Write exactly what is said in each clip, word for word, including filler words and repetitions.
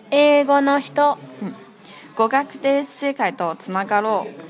英語の人、 うん、語学で世界とつながろう。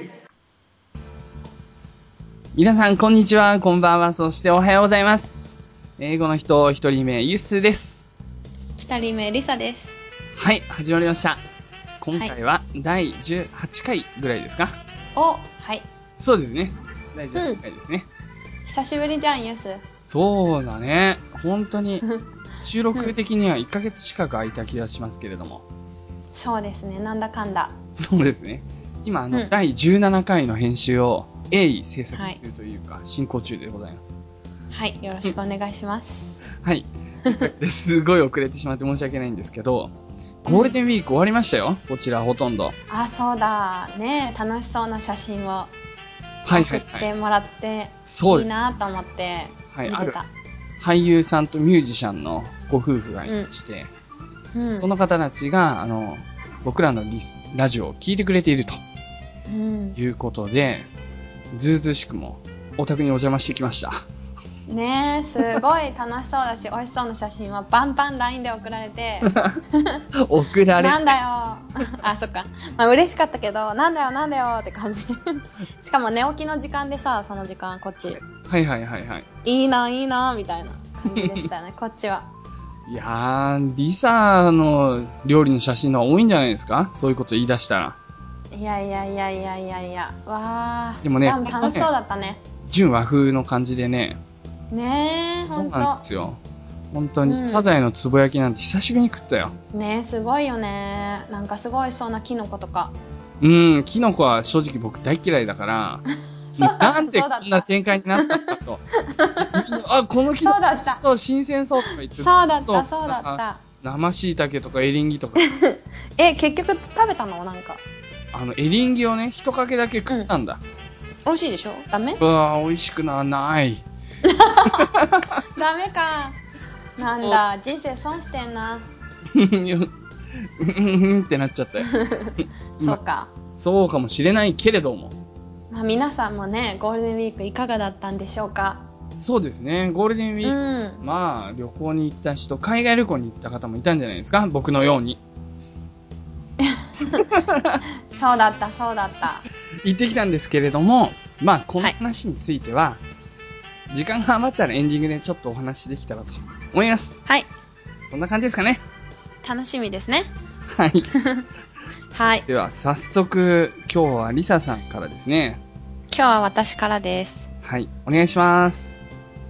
皆さんこんにちは、こんばんは、そしておはようございます。英語の人一人目ユッスです。 二人目リサです。 はい、始まりました。今回はだいじゅうはちかいぐらいですか？ お、はい。 そうですね。だいじゅうはちかいですね。 うん、久しぶりじゃん、ユッス。 そうだね。本当に収録的にはいっかげつ近く空いた気がしますけれども。 そうですね、なんだかんだ。 そうですね。今あの、うん、だいじゅうななかいの編集を鋭意制作中というか、はい、進行中でございます。 はい、よろしくお願いします。 はい。すごい遅れてしまって申し訳ないんですけど、ゴールデンウィーク終わりましたよ、こちらほとんど。 あ、そうだ。ね、楽しそうな写真を送ってもらって、はいはいはい、いいなと思って見てた。はい、ある俳優さんとミュージシャンのご夫婦がいまして、うんうん、その方たちが、あの、僕らのリスラジオを聞いてくれていると、うん、いうことで、ずうずうしくもお宅にお邪魔してきました。 ねえ、すごい楽しそうだし、美味しそうな写真はバンバン ライン で送られて。 送られて。 なんだよ。あ、そっか。まあ嬉しかったけど、なんだよなんだよって感じ。しかも寝起きの時間でさ、その時間、こっち。 はいはいはいはい。 いいないいな、みたいな感じでしたね、こっちは。 いやー、リサの料理の写真の方が多いんじゃないですか？そういうこと言い出したら。 いやいやいやいやいやいや。わー。 でもね、 楽しそうだったね。 純和風の感じでね。 ねえ、ほんと。 そうなんですよ。本当に、うん、サザエのつぼ焼きなんて久しぶりに食ったよ。 ねえ、すごいよね。なんかすごいそうなキノコとか。 うん、キノコは正直僕大嫌いだから、なんでこんな展開になったんだと。あ、このキノコ美味しそう、新鮮そうとか言って。 そうだった、そうだった。 生椎茸とかエリンギとか。 え、結局食べたの？なんか。 あの、エリンギをね、一かけだけ食ったんだ。 うん、美味しいでしょ？ダメ？ うわぁ、美味しくな、ない。 ダメか。なんだ、人生損してんな。 うんってなっちゃったよ。 そうか、 ま。そうかもしれないけれども。 まあ皆さんもね、ゴールデンウィークいかがだったんでしょうか？ そうですね、ゴールデンウィーク、うん、まあ旅行に行った人、海外旅行に行った方もいたんじゃないですか？僕のように。 そうだった、そうだった。 行ってきたんですけれども、まあこの話については、はい、時間が余ったらエンディングでちょっとお話できたらと思います。 はい。 そんな感じですかね。 楽しみですね。 はい。 はい。 では早速今日はリサさんからですね。 今日は私からです。 はい、お願いします。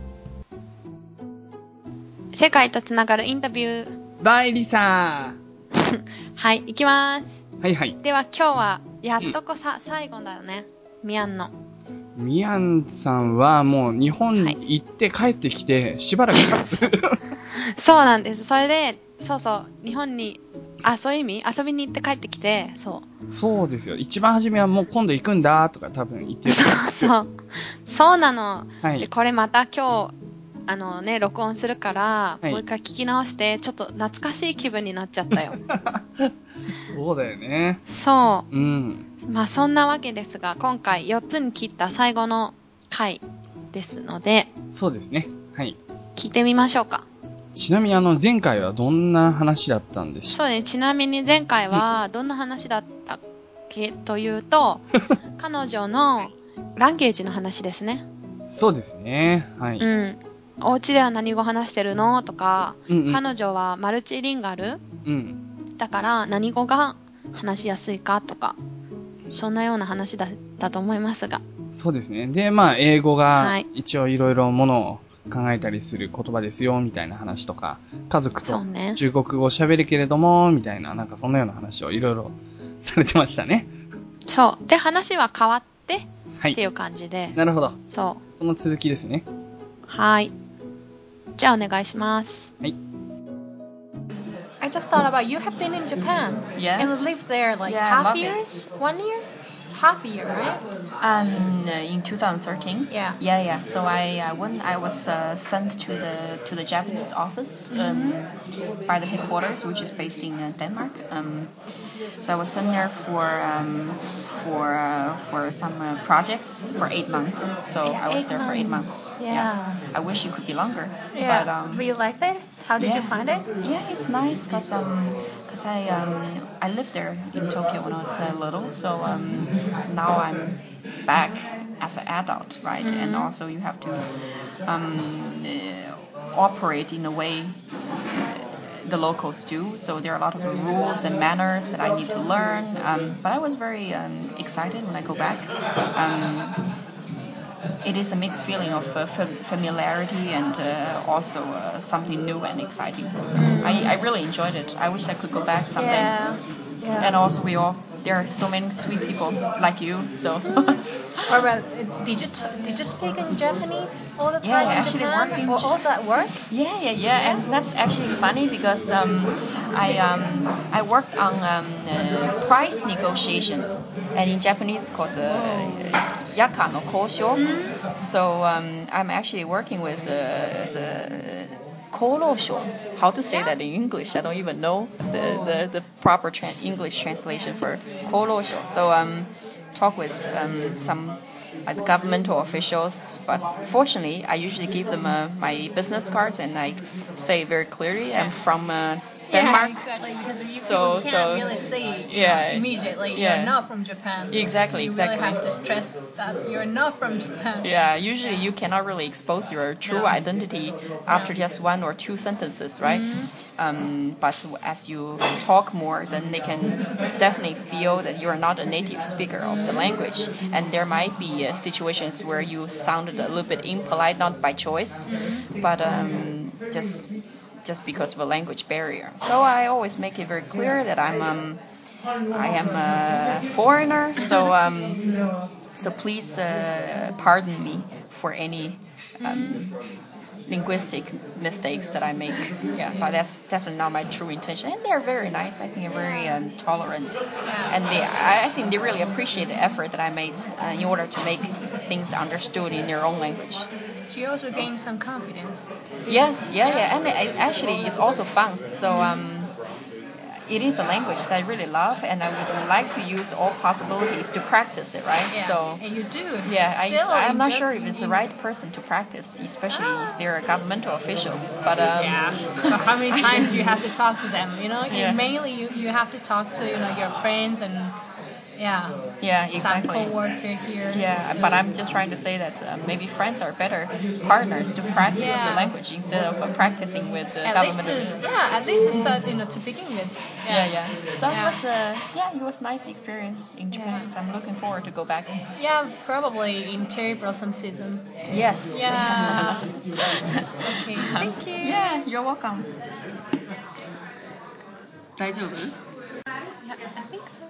世界とつながるインタビュー。 バイリサー。はい、行きます。 はいはい。 では今日はやっとこさ、うん、最後だよね。ミアンの。 ミアンさんはもう日本に行って帰ってきてしばらく経つ、はい、 そうなんです。それで、そうそう、日本に、あ、そういう意味？遊びに行って帰ってきて、そう。 そうですよ。一番初めはもう今度行くんだとか多分言ってる。 そうそう。そうなの。 はい、 で、これまた今日、あのね、録音するから、 はい、 もう一回聞き直して、ちょっと懐かしい気分になっちゃったよ。 そうだよね。 そう。 うん。 まあそんなわけですが、今回よっつに切った最後の回ですので。 そうですね。はい。 聞いてみましょうか。 ちなみにあの前回はどんな話だったんでしょう？ そうね、ちなみに前回はどんな話だったっけというと、彼女のランゲージの話ですね。 そうですね。はい。 うん。お家では何語話してるのとか、 うんうん、 彼女はマルチリンガル、 うん、 だから何語が話しやすいかとか、そんなような話だったと思いますが。 そうですね。で、まあ英語が一応いろいろものを考えたりする言葉ですよみたいな話とか、家族と中国語喋るけれども、みたいな、なんかそんなような話をいろいろされてましたね。 そう。で、話は変わって、 はい、 っていう感じで。 なるほど。 そう。 その続きですね。 はい。じゃあお願いします。 はい。 I just thought about you have been in Japan. Yes. And lived there like yeah, half years? It. One year? half a year, right? Um, in twenty thirteen. Yeah. Yeah, yeah. So I uh, when I was uh, sent to the to the Japanese office um, mm-hmm. by the headquarters, which is based in uh, Denmark. Um, so I was sent there for um, for uh, for some uh, projects for eight months. So yeah, I was there months. for eight months. Yeah. yeah. I wish it could be longer. Yeah. But, um, but you liked it? How did yeah. you find it? Yeah, it's nice because um, cause I um, I lived there in Tokyo when I was uh, little. So um, now I'm back as an adult, right? Mm-hmm. And also you have to um, uh, operate in a way the locals do. So there are a lot of rules and manners that I need to learn. Um, but I was very um, excited when I go back. Um, it is a mixed feeling of uh, fam- familiarity and uh, also uh, something new and exciting. So mm. I, I really enjoyed it. I wish I could go back someday. Yeah. Yeah. And also we all there are so many sweet people like you. So. Or about, did you t- did you speak in Japanese all the time? Yeah, in actually Japan? working. Or also at work? Yeah, yeah, yeah, and that's actually funny because um, I um, I worked on um, uh, price negotiation, and in Japanese it's called uh, yaka no kousho. Mm-hmm. So um, I'm actually working with uh, the Korosho. How to say yeah. that in English? I don't even know the the, the proper tra- English translation for Korosho. So um, talk with um, some like governmental officials, but fortunately, I usually give them uh, my business cards and I say very clearly I'm from uh, Denmark. Yeah, exactly. Because so, people can't so, really see yeah, know, immediately yeah. you're not from Japan. Exactly, so you exactly. You really have to stress that you're not from Japan. Yeah, usually you cannot really expose your true no. identity after no. just one or two sentences, right? Mm-hmm. Um, but as you talk more, then they can definitely feel that you are not a native speaker of the language, and there might be uh, situations where you sounded a little bit impolite, not by choice, mm-hmm. but um, just just because of a language barrier. So I always make it very clear that I'm um, I am a foreigner, so um, so please uh, pardon me for any um, linguistic mistakes that I make. Yeah, but that's definitely not my true intention. And they're very nice. I think they're very um, tolerant, and they I, I think they really appreciate the effort that I made uh, in order to make things understood in their own language. So you also gain some confidence. Yes, yeah, yeah, and it, actually it's also fun. So um, it is a language that I really love, and I would like to use all possibilities to practice it, right? Yeah, so and you do. Yeah, Still I, I'm not Jap- sure if it's the right person to practice, especially ah. if they're governmental officials. But um, yeah, so how many times do you have to talk to them? You know, yeah. mainly you, you have to talk to you know your friends and. Yeah. Yeah, exactly. Some co-worker here. Yeah, so. But I'm just trying to say that uh, maybe friends are better partners to practice yeah. the language instead of uh, practicing with the at government. Least to, yeah, at least to start, you know, to begin with. Yeah, yeah. yeah. So yeah. it was, uh, yeah, it was a nice experience in Japan. Yeah. So I'm looking forward to go back. Yeah, probably in cherry blossom season. Yes. Yeah. Okay. Thank you. Yeah, you're welcome. 大丈夫? Yeah, I think so.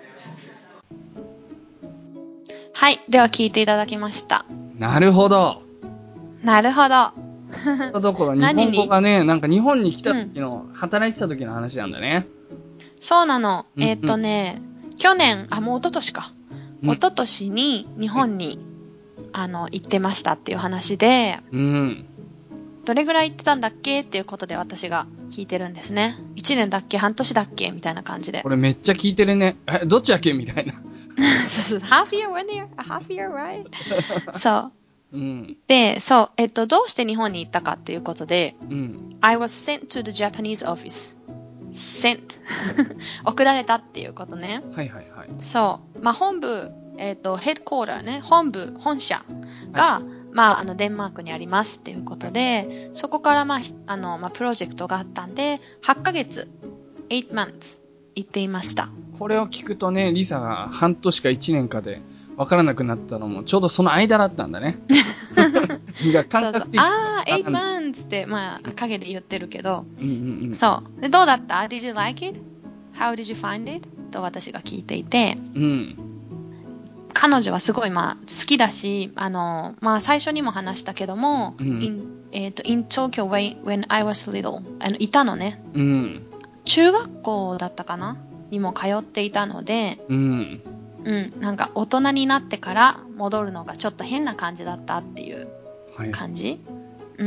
はい。では聞いていただきました。 なるほど。 なるほど。 だから日本語がね、なんか日本に来た時の、うん、働いてた時の話なんだね。 そうなの。うんうん、えーっとね、去年、あ、もう一昨年か。うん、一昨年に日本に、うん、あの、行ってましたっていう話で、 うん、 どれぐらい行ってたんだっけっていうことで私が聞いてるんですね。一年だっけ半年だっけみたいな感じで。 これめっちゃ聞いてるね。え、どっちだっけみたいな。 そうそう。half year, one year, a half year, right? そう。 うん、 で、そう、えっと、どうして日本に行ったかっていうことで、 うん、 I was sent to the Japanese office. sent. 送られたっていうことね。 はいはいはい。 そう。まあ、本部、えっと、ヘッドコーターね、本部、本社が、はい、まあ、あの、デンマークにありますっていうことで、そこから、まあ、あの、まあ、プロジェクトがあったんで、はちかげつ、eight months 行っていました。 これを聞くとね、リサが半年か一年かで分からなくなったのも、ちょうどその間だったんだね。いや、感覚的そうそう。あー、eight months って、まあ、影で言ってるけど、 うんうんうん、 そう。で、どうだった ?Did you like it? How did you find it? と私が聞いていて、 うん、 彼女はすごい、まあ、好きだし、あの、まあ、最初にも話したけども、 うん、 in, えっと、in Tokyo when I was little, あの、いたのね。 うん、 中学校だったかなにも通っていたので、 うん、 うん、なんか大人になってから戻るのがちょっと変な感じだったっていう感じ、はい、うん。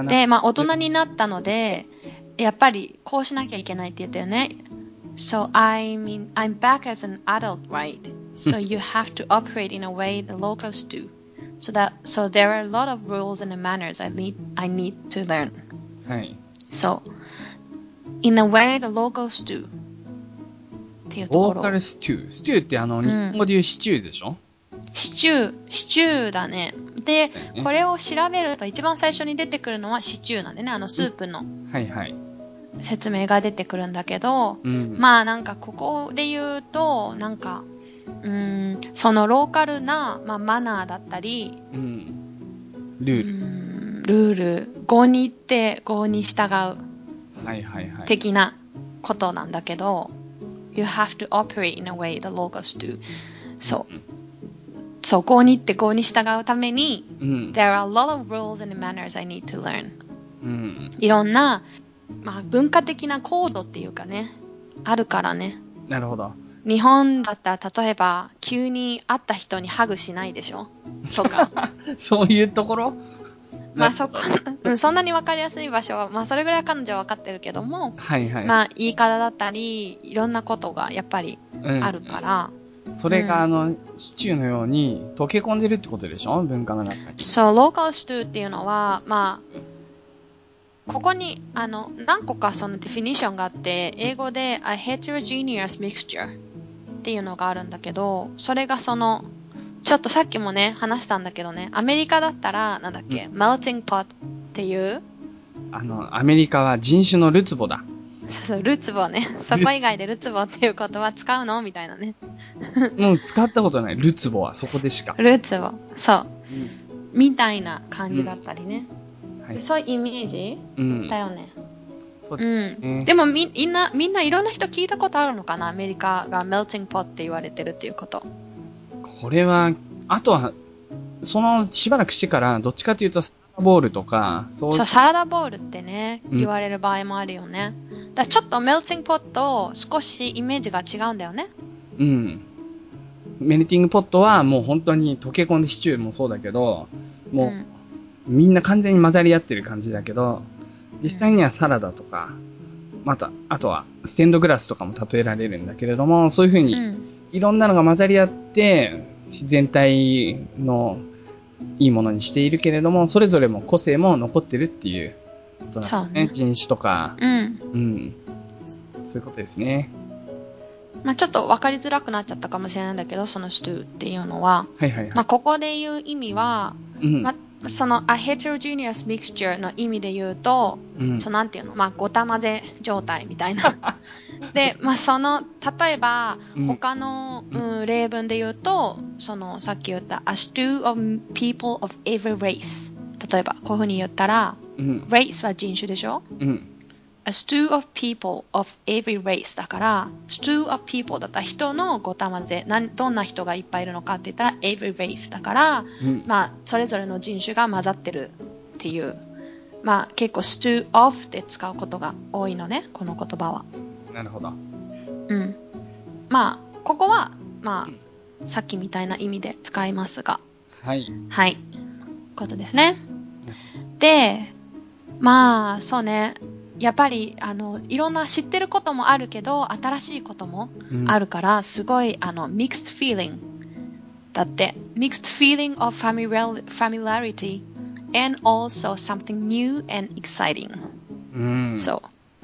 で、まあ大人になったので、やっぱりこうしなきゃいけないって言ったよね。So I mean, I'm back as an adult, right? So you have to operate in a way the locals do. So that, so there are a lot of rules and manners I need, I need to learn. はい。 So, in a way the locals do. っていうところ。 ローカルスチュー。スチューってあの、日本語で言うシチューでしょ、 うん、シチュー、シチューだね。で、ね、これを調べると一番最初に出てくるのはシチューなんでね、あのスープの。 はいはい。 説明が出てくるんだけど、うん、まあなんかここで言うと、なんか、うーん、そのローカルな、まあ、マナーだったり、 うん、ルール。 うんルール、語に行って語に従う。 はいはいはい。 的なことなんだけど、You have to operate in a way the locals do. そう。そう、語に行って語に従うために、うん、There are a lot of rules and manners I need to learn. うん、いろんな、まあ、文化的なコードっていうかね、あるからね。 なるほど。 日本だったら例えば急に会った人にハグしないでしょとか。 そういうところまあそこ、そんなに分かりやすい場所は、まあそれぐらい彼女は分かってるけども、 はいはい。 まあ言い方だったり、いろんなことがやっぱりあるから。 うん、それが、うん、あの、シチューのように溶け込んでるってことでしょ文化の中に。 そう、ローカルスチューっていうのは、まあ、ここに、あの、何個かそのデフィニッションがあって、英語で a heterogeneous mixture っていうのがあるんだけど、それがその、ちょっとさっきもね、話したんだけどね、アメリカだったら、なんだっけ、うん、melting pot っていう、 あの、アメリカは人種のるつぼだ。 そうそう、るつぼね。そこ以外でるつぼっていう言葉使うのみたいなね。 うん、使ったことない。るつぼはそこでしか。 るつぼ。そう、うん。みたいな感じだったりね。うんはい、そういうイメージ、うん、だよね。そうですね。うん。でもみんな、みんないろんな人聞いたことあるのかなアメリカが melting pot って言われてるっていうこと。 これは、あとは、そのしばらくしてから、どっちかというと、サラダボールとか、 そう。そう、サラダボールってね、言われる場合もあるよね。うん、だちょっと melting pot と少しイメージが違うんだよね。 うん。メルティングポットはもう本当に溶け込んでシチューもそうだけど、もう、うんみんな完全に混ざり合ってる感じだけど、実際にはサラダとか、また、あとはステンドグラスとかも例えられるんだけれども、そういう風にいろんなのが混ざり合って、全体のいいものにしているけれども、それぞれも個性も残ってるっていうことなんですね。そうね。人種とか、うん。うん。そういうことですね。 まあちょっと分かりづらくなっちゃったかもしれないんだけど、そのストゥーっていうのは。 はいはいはい。 まあここで言う意味は、うん、まあその a heterogeneous mixture の意味で言うと、うん、そのなんていうの、まあごた混ぜ状態みたいな。で、まあその、例えば、他の、うんうん、例文で言うと、そのさっき言った a stew of people of every race。例えば、こういうふうに言ったら、うん、race は人種でしょ、うんA stew of people of every race だから、stew of people だったら人のごた混ぜ、どんな人がいっぱいいるのかって言ったら every race だから、うん、まあ、それぞれの人種が混ざってるっていう、まあ結構 stew of で使うことが多いのね、この言葉は。 なるほど。 うん。まあ、ここは、まあ、さっきみたいな意味で使いますが。 はい。 はい。ことですね。で、まあ、そうね。やっぱり、あの、いろんな知ってることもあるけど、新しいこともあるから、うん、すごい、あの、mixed feeling だって。mixed feeling of familiarity and also something new and exciting、うん、そう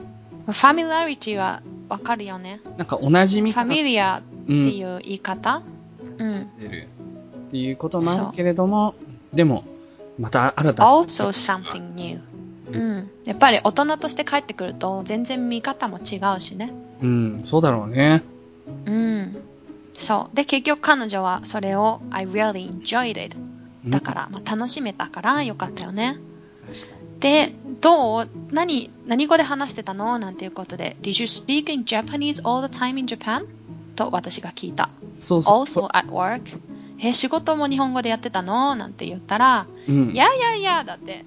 。familiarity はわかるよね。 なんか同じみファミリアっていう言い方、 うん、っていうこともあるけれども、でも、また新たな。also something new。うん。やっぱり大人として帰ってくると全然見方も違うしね。 うん、そうだろうね。 うん。そう。で、結局彼女はそれを I really enjoyed it。だから、まあ、楽しめたからよかったよね。で、どう何、何語で話してたのなんていうことで Did you speak in Japanese all the time in Japan? と私が聞いた。 そうそう。 Also at work? え、仕事も日本語でやってたのなんて言ったら、うん、いやいやいや、だって。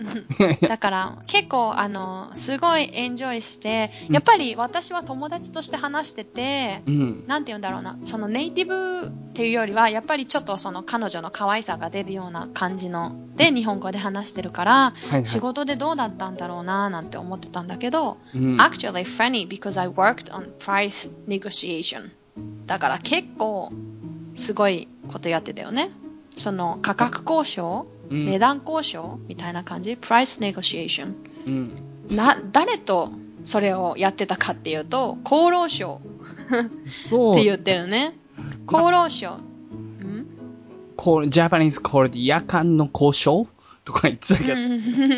だから、結構、あの、すごいエンジョイして、やっぱり私は友達として話してて、うん、なんて言うんだろうな、そのネイティブっていうよりは、やっぱりちょっとその彼女の可愛さが出るような感じの、で、日本語で話してるから、はいはい、仕事でどうだったんだろうな、なんて思ってたんだけど、うん、actually funny because I worked on price negotiation. だから結構、すごいことやってたよね。その価格交渉、うん、値段交渉みたいな感じ price negotiation、うん、な誰とそれをやってたかっていうと厚労省って言ってるね。厚労省、うん、 ジャパニーズコールで夜間の交渉とか言ってたけど、うん、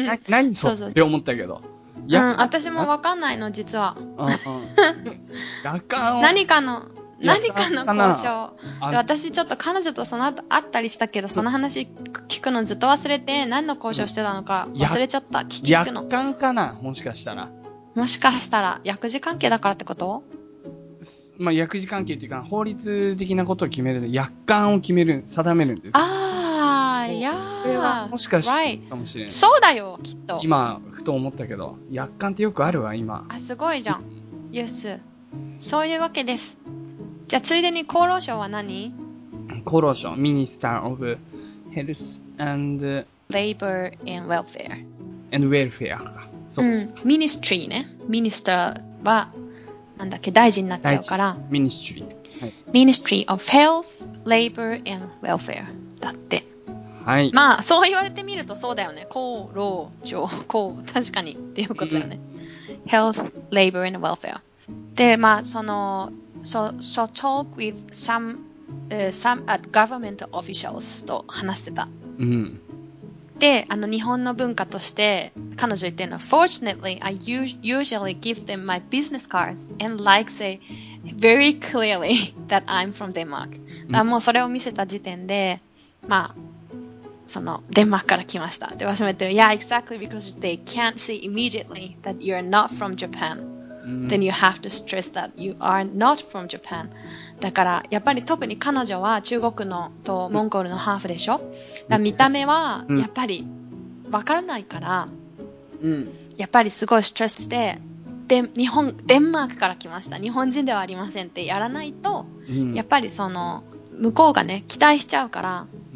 な何それって思ったけど、 うん、私もわかんないの実は。うんうん、 夜間を何かの何かの交渉で、私ちょっと彼女とその後会ったりしたけど、その話聞くのずっと忘れて、何の交渉してたのか忘れちゃった。聞き聞くの。 約款かな、もしかしたら。 もしかしたら薬事関係だからってこと？ まあ薬事関係っていうか法律的なことを決める、約款を決める、定めるんです。 ああ、いやー。 これはもしかしてかもしれない。 Right. そうだよ、きっと。 今ふと思ったけど、約款ってよくあるわ今。 あ、すごいじゃん。ユース。そういうわけです。じゃあ、ついでに厚労省は何？ 厚労省、Minister of Health and Labor and Welfare and Welfare か。そうです。 うん。ミニストリーね。ミニスターは、なんだっけ、大臣になっちゃうから。 ミニストリー。はい。 Ministry of Health, Labor and Welfare だって。はい。まあ、そう言われてみるとそうだよね。厚労省、こう、確かにっていうことだよね。うん、Health, Labor and Welfare。で、まあ、その、So, so talk with some, uh, some at government officials と話してた。うん。で、あの日本の文化として彼女言ってるのは Fortunately, I usually give them my business cards and like say very clearly that I'm from Denmark. だからもうそれを見せた時点で、まあ、そのデンマークから来ました。で、私も言ってる Yeah, exactly because they can't see immediately that you're not from Japan.Then you have to stress that you are not from Japan. だからやっぱり特に彼女は中国のとモンゴルのハーフでしょ。だから見た目はやっぱりわからないから、うん、やっぱりすごいストレスしてで日本デンマークから来ました。日本人ではありませんってやらないと、うん、やっぱりその向こうがね期待しちゃうから、うん、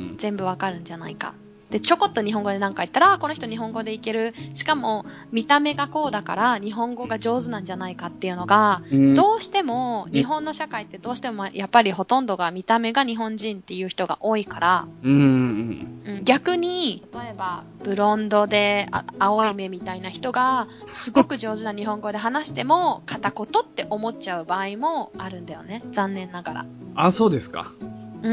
全部わかるんじゃないか。で、ちょこっと日本語で何か言ったら、この人日本語でいける。しかも、見た目がこうだから、日本語が上手なんじゃないかっていうのが、うん、どうしても、日本の社会ってどうしても、やっぱりほとんどが見た目が日本人っていう人が多いから、うん、逆に、例えば、ブロンドで青い目みたいな人が、すごく上手な日本語で話しても、片言って思っちゃう場合もあるんだよね。残念ながら。 あ、そうですか。 うん。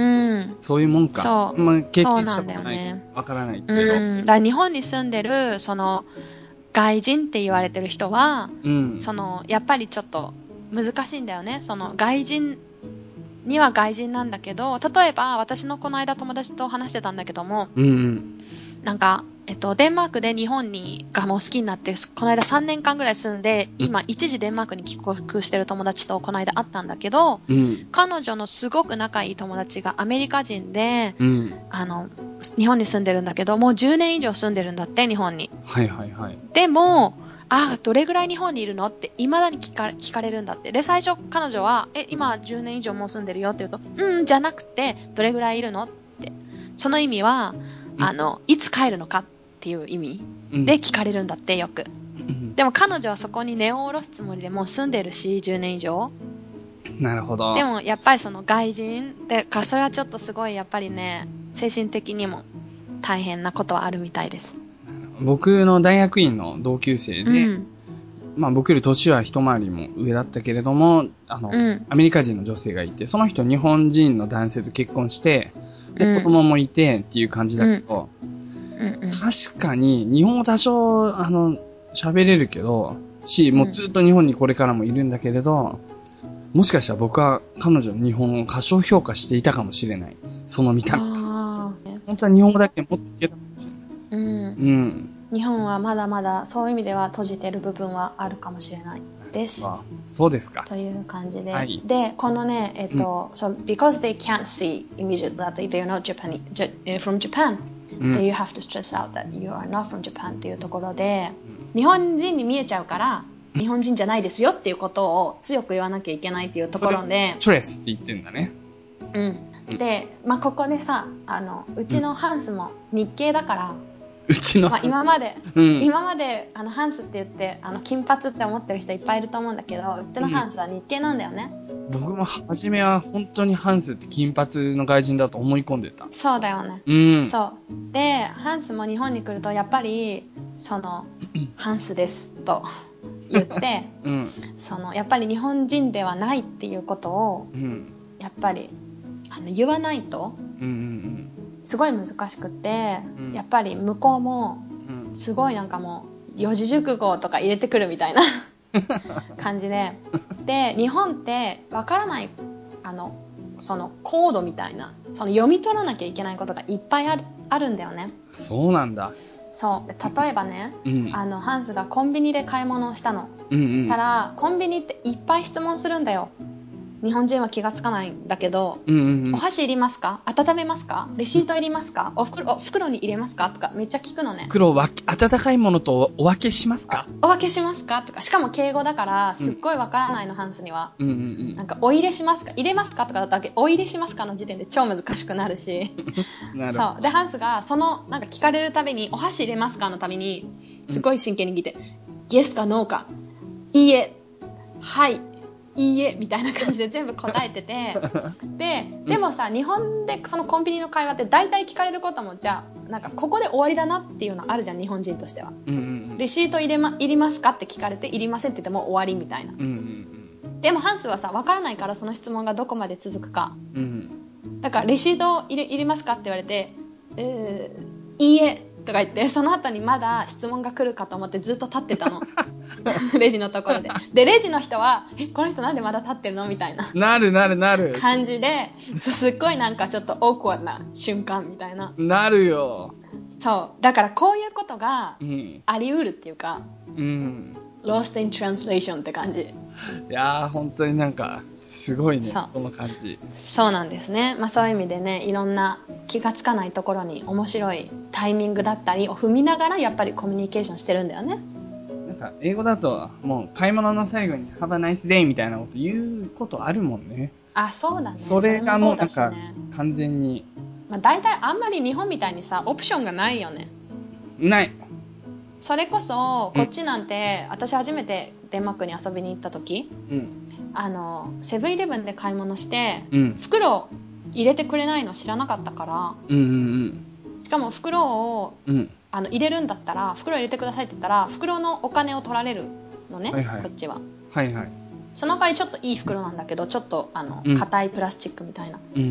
そういうもんか。 そう。 まあ、経験したことない。 わからないけど。 うん。だから日本に住んでる、その、外人って言われてる人は、うん、その、やっぱりちょっと難しいんだよね。その、外人には外人なんだけど、例えば、私のこの間友達と話してたんだけども、うん、なんか、えっと、デンマークで日本にがもう好きになって、この間さんねんかんぐらい住んで、今一時デンマークに帰国してる友達とこの間会ったんだけど、うん、彼女のすごく仲いい友達がアメリカ人で、うん、あの、日本に住んでるんだけど、もうじゅうねん以上住んでるんだって、日本に。 はいはいはい。 でも、あ、どれぐらい日本にいるのって未だに聞か、聞かれるんだって。で、最初彼女は、え、今じゅうねん以上もう住んでるよって言うと、うん、じゃなくて、どれぐらいいるのって。その意味は、あの、いつ帰るのかっていう意味で聞かれるんだってよく。うん、でも彼女はそこに根を下ろすつもりでもう住んでるし、じゅうねん以上。 なるほど。 でもやっぱりその外人でからそれはちょっとすごいやっぱりね、精神的にも大変なことはあるみたいです。 僕の大学院の同級生で、うん、まあ僕より年は一回りも上だったけれども、あの、うん、アメリカ人の女性がいて、その人日本人の男性と結婚して、子供もいてっていう感じだけど、うんうんうん、確かに日本語多少、あの、喋れるけど、し、もうずっと日本にこれからもいるんだけれど、もしかしたら僕は彼女の日本語を過小評価していたかもしれない。その見た目。本当は日本語だけもっといけたかもしれない。うん。うん。 日本はまだまだそういう意味では閉じてる部分はあるかもしれないです。 ああ、そうですか。 という感じで。はい、で、このね、えっと、うん、so because they can't see immediately that they are not Japanese, from Japan, うん、で You have to stress out that you are not from Japan っていうところで、うん、日本人に見えちゃうから日本人じゃないですよっていうことを強く言わなきゃいけないっていうところで、 ストレスって言ってんだね。 うん。で、まあ、ここでさ、あの、うちのハンスも日系だから、 うちの、 まあ、今まで、 うん、 今まで、あの、ハンスって言って、あの、金髪って思ってる人いっぱいいると思うんだけど、うちのハンスは日系なんだよね。 うん、僕も初めは本当にハンスって金髪の外人だと思い込んでた。 そうだよね。 うん。 そう。で、ハンスも日本に来ると、やっぱり、その、ハンスです、と。言って、うん、そのやっぱり日本人ではないっていうことを、うん、やっぱりあの言わないと、うんうんうん、すごい難しくて、うん、やっぱり向こうもすごいなんかもう四字熟語とか入れてくるみたいな感じで、で日本ってわからないあのそのコードみたいなその読み取らなきゃいけないことがいっぱいある、あるんだよね。 そうなんだ。 そうで例えばね、うん、あのハンスがコンビニで買い物をしたの、うんうん、したらコンビニっていっぱい質問するんだよ。日本人は気がつかないんだけど、うんうんうん、お箸いりますか？温めますか？レシートいりますか？お袋、お袋に入れますか？とかめっちゃ聞くのね。 袋を温かいものとお分けしますか？ お分けしますか？とかしかも敬語だからすっごいわからないの、うん、ハンスには、うんうんうん、なんかお入れしますか？入れますか？とかだったらお入れしますかの時点で超難しくなるしなるそうでハンスがそのなんか聞かれるたびにお箸入れますかのたびにすごい真剣に聞いて、うん、イエスかノーかいいえはいいいえみたいな感じで全部答えててで、でもさ、日本でそのコンビニの会話って大体聞かれることもじゃあなんかここで終わりだなっていうのあるじゃん日本人としては、うんうんうん、レシート入れ、ま、入りますかって聞かれて入りませんって言っても終わりみたいな、うんうんうん、でもハンスはさ分からないからその質問がどこまで続くか、うん、だからレシート入れ、入れますかって言われて、えー、いいえとか言ってその後にまだ質問が来るかと思ってずっと立ってたのレジのところででレジの人はえこの人なんでまだ立ってるのみたいななるなるなる感じですっごいなんかちょっとオークワードな瞬間みたいななるよ。 そうだからこういうことがあり得るっていうか、うん、Lost in Translation って感じ。いやー本当になんかすごいね、その感じ。 そうなんですね。まあそういう意味でね、いろんな気がつかないところに面白いタイミングだったりを踏みながらやっぱりコミュニケーションしてるんだよね。 なんか英語だともう買い物の最後に Have a nice day みたいなこと言うことあるもんね。 あ、そうだね。 それがもうなんか完全に。 まあ大体あんまり日本みたいにさ、オプションがないよね。 ない。それこそこっちなんて、うん、私初めてデンマークに遊びに行った時、うん、あのセブンイレブンで買い物して、うん、袋入れてくれないの知らなかったから、うんうんうん、しかも袋を、うん、あの入れるんだったら袋入れてくださいって言ったら袋のお金を取られるのね、はいはい、こっちは、はいはい、その代わりちょっといい袋なんだけどちょっとあの、うん、硬いプラスチックみたいな、うんうんうん、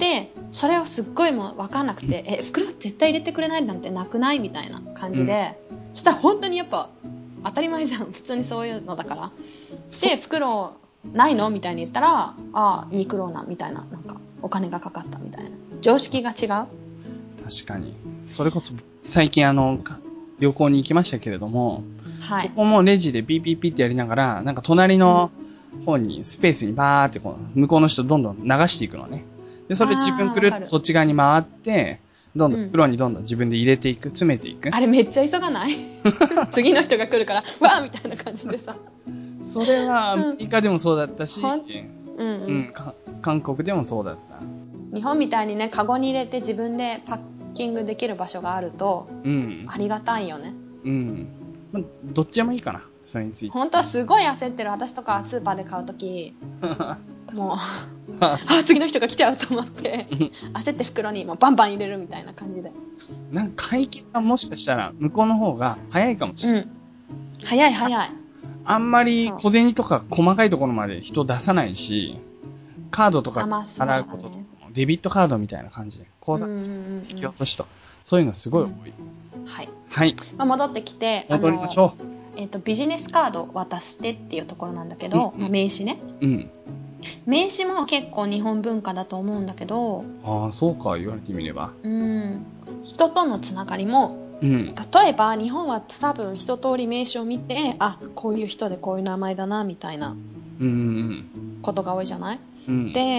でそれをすっごいもう分かんなくて、うん、え袋絶対入れてくれないなんてなくないみたいな感じで、うん、そしたら本当にやっぱ当たり前じゃん普通にそういうのだからで袋ないのみたいに言ったらあにクローナみたいななんかお金がかかったみたいな常識が違う。確かにそれこそ最近あの旅行に行きましたけれども、はい、そこもレジでピーピーピーってやりながらなんか隣の方にスペースにバーってこう向こうの人どんどん流していくのね。でそれ自分くるっとそっち側に回ってどんどん袋にどんどん自分で入れていく、詰めていく。 あれめっちゃ急がない次の人が来るからわーみたいな感じでさそれはアメリカでもそうだったし、うんうんうん、韓国でもそうだった。 日本みたいにねカゴに入れて自分でパッキングできる場所があると、うん、ありがたいよね。 うん、どっちでもいいかなそれについて。 本当はすごい焦ってる私とかスーパーで買うときもうあ次の人が来ちゃうと思って焦って袋にもうバンバン入れるみたいな感じで。 なんか会計がもしかしたら向こうの方が早いかもしれない。うん、 早い早い。 あんまり小銭とか細かいところまで人出さないし、カードとか払うこととか、デビットカードみたいな感じで口座引き落としとそういうのすごい多い。 うん、はい。 はい。 まあ、戻ってきて戻りましょう。 えっとビジネスカード渡してっていうところなんだけど、うんうん、名刺ね。うん。名刺も結構日本文化だと思うんだけど。 ああそうか言われてみれば。 うん。人とのつながりも。うん、例えば日本は多分一通り名刺を見てあこういう人でこういう名前だなみたいなことが多いじゃない、うん、で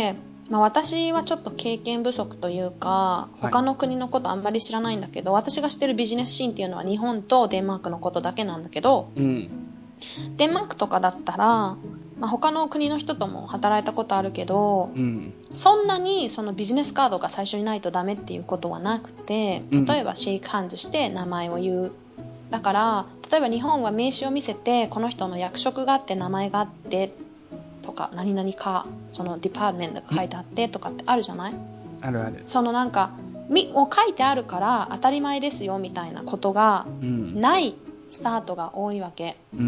まあ私はちょっと経験不足というか、他の国のことあんまり知らないんだけど、はい、私が知ってるビジネスシーンっていうのは日本とデンマークのことだけなんだけど、うん、デンマークとかだったら、まあ、他の国の人とも働いたことあるけど、うん、そんなにそのビジネスカードが最初にないとダメっていうことはなくて、例えばシェイクハンズして名前を言う。だから、例えば日本は名刺を見せて、この人の役職があって名前があって、とか何々かそのディパートメントが書いてあってとかってあるじゃない？ あるある。 そのなんかみを書いてあるから当たり前ですよみたいなことがないスタートが多いわけ、うん、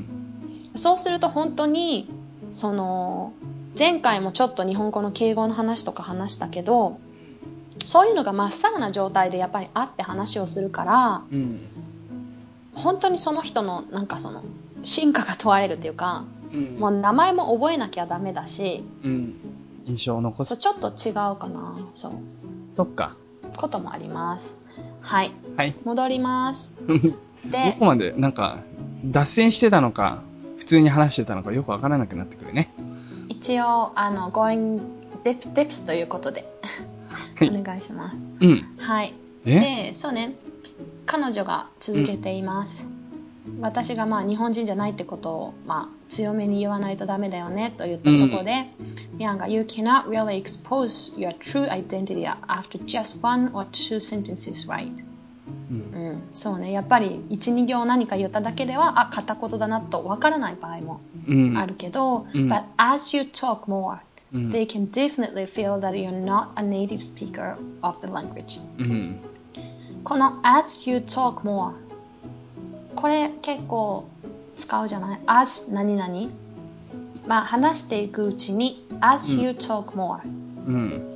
そうすると本当にその前回もちょっと日本語の敬語の話とか話したけど、そういうのがまっさらな状態でやっぱり会って話をするから、うん、本当にその人のなんかその進化が問われるっていうか、うん、もう名前も覚えなきゃダメだし、うん、 印象を残す。 そうちょっと違うかな。そう。 そっか。 こともあります。はい。はい。戻ります。 で、どこまでなんか脱線してたのか、普通に話してたのかよくわからなくなってくるね。 一応あの going depth depth ということでお願いします。 うん。 はい。で、そうね。彼女が続けています。うん私がまあ日本人じゃないってことをまあ強めに言わないとダメだよねと言ったところで、ミアンが You cannot really expose your true identity after just one or two sentences, right? うん、うん、そうね。やっぱり一、二行何か言っただけではあ片言だなとわからない場合もあるけど、うん、But as you talk more, うん、they can definitely feel that you're not a native speaker of the language、うん、この as you talk moreこれ結構使うじゃない as 何々まあ話していくうちに as you talk more、うん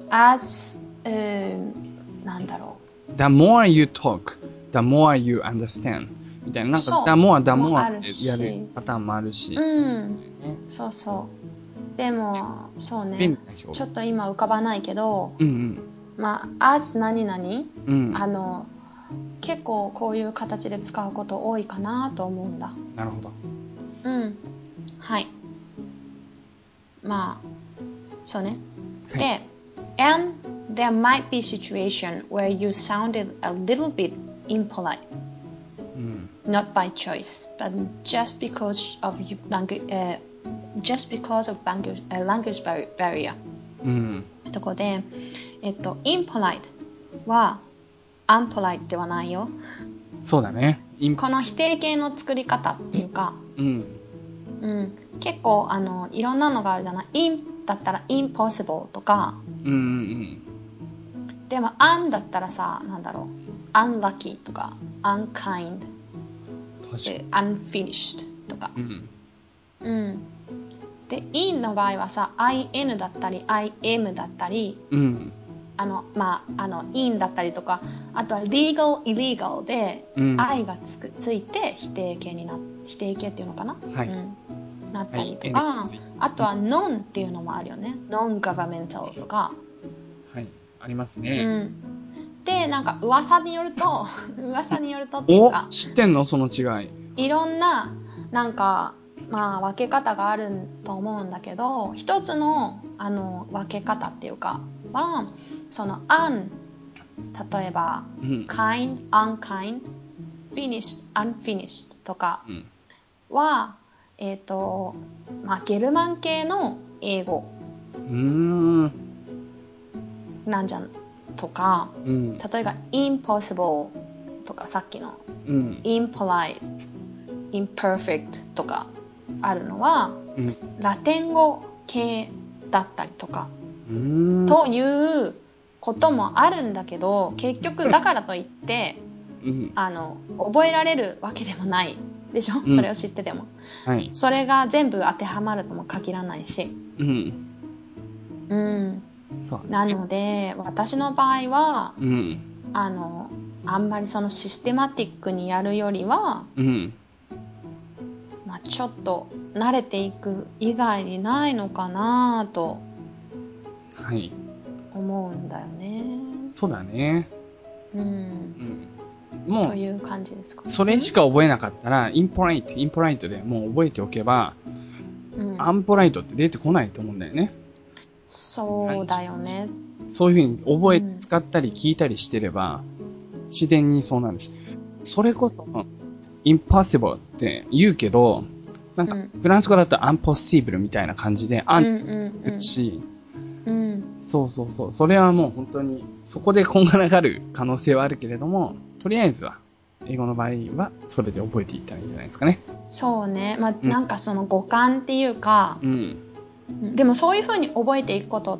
、as、えー、なんだろう the more you talk the more you understand みたいななんか the more the more ってやるパターンもあるしうん、そうそうでもそうねちょっと今浮かばないけど、うんうん、まあ as 何々、うん、あの結構こういう形で使うこと多いかなと思うんだ。 なるほど。 うん。はい。まあ、そうね。はい、で、and there might be situation where you sounded a little bit impolite、うん、not by choice, but just because of language,、uh, just because of language,、uh, language barrier、うん。とこで、えっと、impolite はアンポライトではないよ。 そうだね。 この否定形の作り方っていうか、うん、うん、結構あのいろんなのがあるじゃない。in だったら impossible とか、うんうんうん、でも un だったらさ、なんだろう、unlucky とか unkind で unfinished とか、うんうん、で in の場合はさ in だったり im だったり、うんあのまあ、あの in だったりとかあとは legal illegal で、うん、I がつくついて否定形にな否定形っていうのかな、はいうん、なったりとか、はい、あとは non っていうのもあるよね non governmental とかはいありますね、 うん、でなんか噂によると噂によるとっていうかお知ってんのその違いいろんななんかまあ分け方があると思うんだけど一つのあの分け方っていうかはその un 例えば、うん、kind, unkind, finished, unfinished とかは、うん、えっと、まあゲルマン系の英語なんじゃんとか、うん、例えば impossible とかさっきの、うん、impolite, imperfect とかあるのは、うん、ラテン語系だったりとかということもあるんだけど結局だからといって、うん、あの覚えられるわけでもないでしょ、うん、それを知ってても、はい、それが全部当てはまるとも限らないし、うんうん、そうなので私の場合は、うん、あのあんまりそのシステマティックにやるよりは、うんまあ、ちょっと慣れていく以外にないのかなとはい思うんだよね。 そうだね。 うん。うん、もうという感じですか。 それしか覚えなかったら、インポライト、インポライトでもう覚えておけば、うん、アンポライトって出てこないと思うんだよね。 そうだよね。 そういうふうに覚え、うん、使ったり聞いたりしてれば、自然にそうなるし。それこそ、impossible って言うけど、なんか、フランス語だと impossible みたいな感じで、あんするし、うん、そうそうそう。それはもう本当に、そこでこんがらがる可能性はあるけれども、とりあえずは、英語の場合は、それで覚えていったらいいんじゃないですかね。 そうね。まあ、うん、なんかその語感っていうか、うん、でもそういう風に覚えていくことって、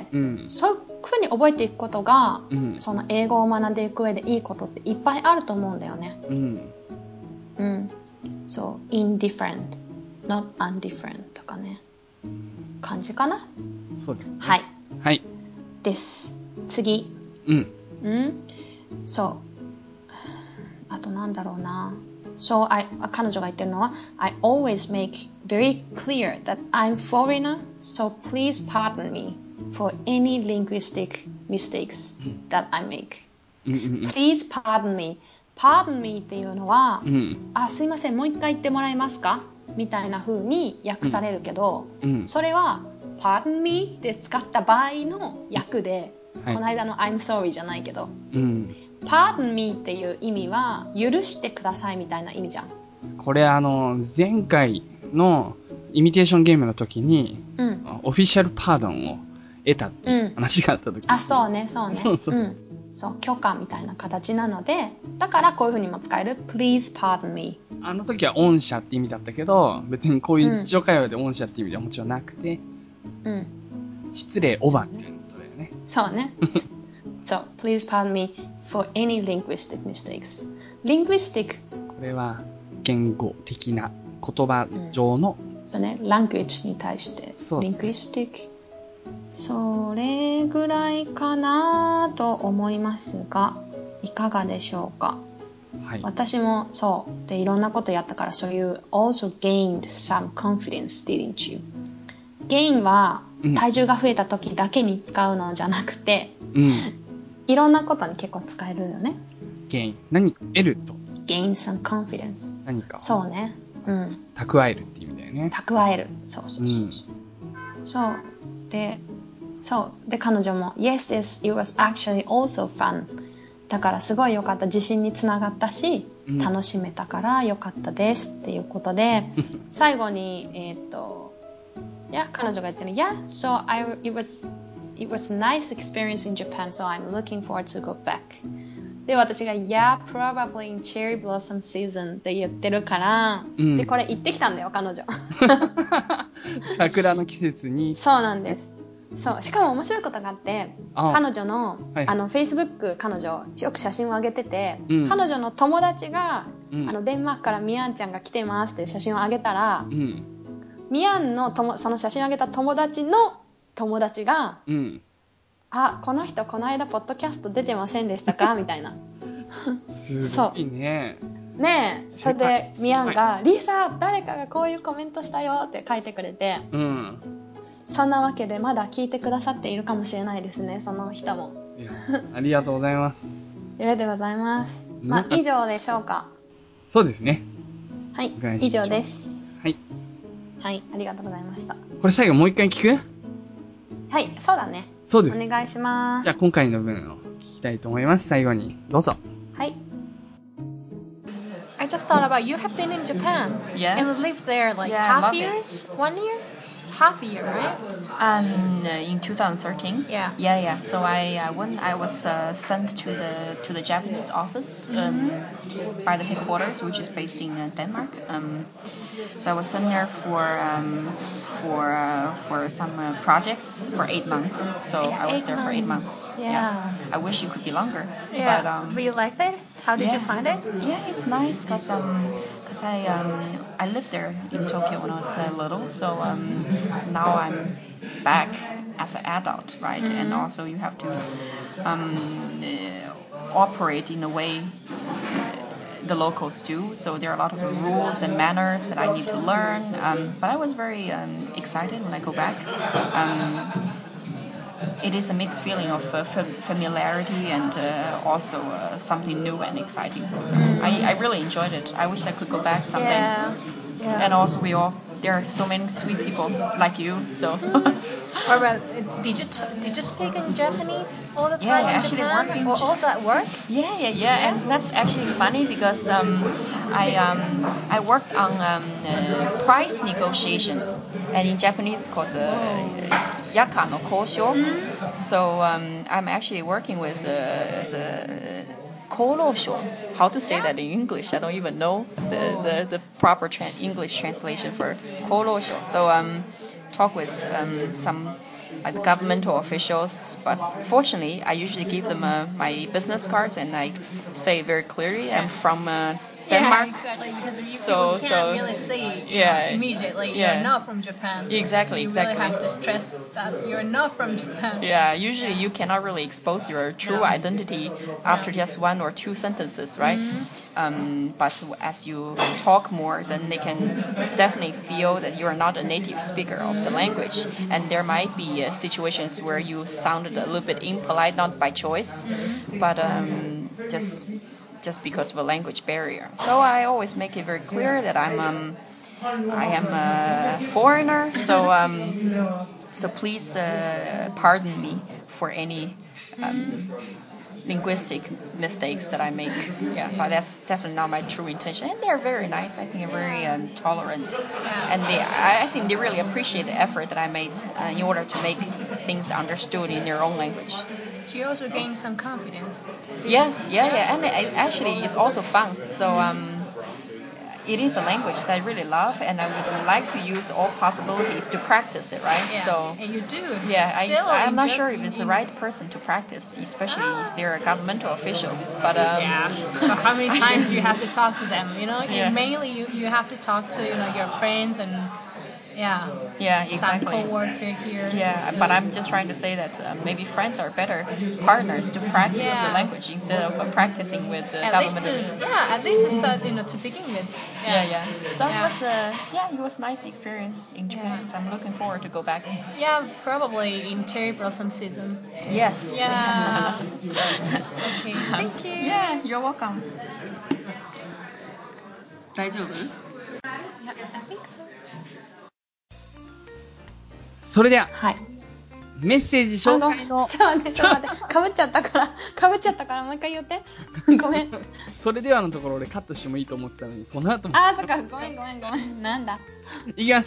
うん、そういう風に覚えていくことが、うん、その英語を学んでいく上でいいことっていっぱいあると思うんだよね。うん。うん。そう、indifferent, not undifferent とかね。感じかな？ そうですね。 はい。 はい。 です。次。 うん。 うん。そう。あとなんだろうな。So, I, 彼女が言ってるのは I always make very clear that I'm foreigner, so please pardon me for any linguistic mistakes that I make. Please pardon me. Pardon me っていうのは、うん、あ、すいません、もう一回言ってもらえますかみたいな風に訳されるけど、うんうん、それは pardon me って使った場合の訳で、はい、この間の I'm sorry じゃないけど、うんPardon me っていう意味は許してくださいみたいな意味じゃん。 これあの前回のイミテーションゲームの時に、うん、オフィシャルパードンを得たっていう話があった時、うん、 あ、そうね、そうね。 そうそう、うん、 そう許可みたいな形なので、だからこういう風にも使える Please pardon me。 あの時は恩赦って意味だったけど、別にこういう日常会話で恩赦って意味ではもちろんなくて、うん、失礼おばっていうことだよね。 そうね。そう、Please pardon me for any linguistic mistakes. Linguistic これは言語的な言葉上の、 うん、そうね、language に対してlinguistic それぐらいかなと思いますがいかがでしょうか。はい、私もそうでいろんなことやったからそういう also gained some confidence didn't you? gain は体重が増えた時だけに使うのじゃなくて、うん、いろんなことに結構使えるよね。 gain 何か得ると gain some confidence 何かそうね、うん、 蓄えるっていう意味だよね。 蓄えるそうそうそうそう、うん、そうでそうで彼女も Yes, yes, it was actually also fun だからすごい良かった自信につながったし、うん、楽しめたから良かったですっていうことで最後にえっといや彼女が言ってる Yeah, so I, it was It was a nice experience in Japan, so I'm looking forward to go back. で、私が Yeah, probably in cherry blossom season って言ってるから、うん、で、これ行ってきたんだよ、彼女。 桜の季節に。 そうなんです。そう。しかも面白いことがあって、彼女の、はい、あの、Facebook、彼女、よく写真を上げてて、うん、彼女の友達が、うん、あの、デンマークからミアンちゃんが来てますっていう写真を上げたら、うん、ミアンのとも、その写真を上げた友達の友達が、うん、あ、この人この間ポッドキャスト出てませんでしたかみたいな。 すごいね。 ねえ、それでミアンがリサ誰かがこういうコメントしたよって書いてくれて、うん、そんなわけでまだ聞いてくださっているかもしれないですね、その人も。 いやありがとうございます。 ありがとうございます。まあ以上でしょうか。 そうですね。 はい、以上です。はい。はい、ありがとうございました。これ最後もう一回聞く？ はい、そうだね。 そうです。 お願いします。 じゃあ今回の分を聞きたいと思います。最後にどうぞ。 はい。I just thought about you have been in Japan. Yes. And lived there like yeah, half years? It. One year? Half a year, right? Um, in twenty thirteen. Yeah. Yeah, yeah. So I uh, when I was uh, sent to the to the Japanese office um, mm-hmm. by the headquarters, which is based in uh, Denmark. Um, so I was sent there for um, for uh, for some uh, projects for eight months. So yeah, I was there months. for eight months. Yeah. yeah. I wish it could be longer. Yeah. But, um, but you liked it? How did yeah. you find it? Yeah, it's nice because um, cause I um, I lived there in Tokyo when I was uh, little. So um, now I'm back as an adult, right? Mm-hmm. And also you have to um, uh, operate in a way the locals do. So there are a lot of rules and manners that I need to learn. Um, but I was very um, excited when I go back. Um, it is a mixed feeling of uh, fam- familiarity and uh, also uh, something new and exciting. So mm. I, I really enjoyed it. I wish I could go back someday. Yeah. Yeah, Yeah. And also we all there are so many sweet people like you. So. Or about, did you t- did you speak in Japanese all the time yeah, in actually Japan? work in Or J- also at work? Yeah, yeah, yeah, and that's actually funny because um, I um, I worked on um, uh, price negotiation, and in Japanese called uh, yaka no koushyou. Mm-hmm. So um, I'm actually working with uh, the Kolosho. How to say yeah. that in English? I don't even know the the, the proper tra- English translation for Kolosho. So um, talk with um, some like the governmental officials, but fortunately, I usually give them uh, my business cards and I say very clearly I'm from uh, Denmark. Yeah, exactly. Because so, people can't so, really see yeah, know, immediately yeah. you're not from Japan. Exactly, so you exactly. really have to stress that you're not from Japan. Yeah, usually you cannot really expose your true no. identity after no. just one or two sentences, right? Mm-hmm. Um, but as you talk more, then they can definitely feel that you are not a native speaker mm-hmm. of the language, and there might be uh, situations where you sounded a little bit impolite, not by choice, mm-hmm. but um, just just because of a language barrier. So I always make it very clear that I'm um, I am a foreigner, so um, so please uh, pardon me for any um, linguistic mistakes that I make. Yeah, but that's definitely not my true intention. And they're very nice. I think they're very um, tolerant, and they I, I think they really appreciate the effort that I made uh, in order to make things understood in their own language. So you also gain some confidence. Yes, yeah, yeah, and it, actually it's also fun. So um, it is a language that I really love, and I would like to use all possibilities to practice it, right? Yeah, so and you do. Yeah, Still I, I'm not Jap- sure if it's the right person to practice, especially ah. if they're governmental officials. But um, yeah, so how many times do you have to talk to them? You know, yeah. mainly you, you have to talk to you know your friends and. Yeah. Yeah, exactly. Some co-worker here. Yeah, but I'm just trying to say that uh, maybe friends are better partners to practice yeah. the language instead of uh, practicing with the at government. Least to, yeah, at least to start, you know, to begin with. Yeah, yeah. yeah. So yeah. it was, uh, yeah, it was a nice experience in Japan. Yeah. So I'm looking forward to go back. Yeah, probably in cherry blossom season. Yes. Yeah. Okay. Thank you. Yeah, you're welcome. 大丈夫? Yeah, I think so. それでは、 はい、 メッセージ紹介の。 ちょっと待って、ちょっと待って、かぶっちゃったから、かぶっちゃったからもう一回言って。ごめん。 それではのところ俺カットしてもいいと思ってたのに、その後も。 あー、そっか、ごめんごめんごめん。なんだ。 いきます。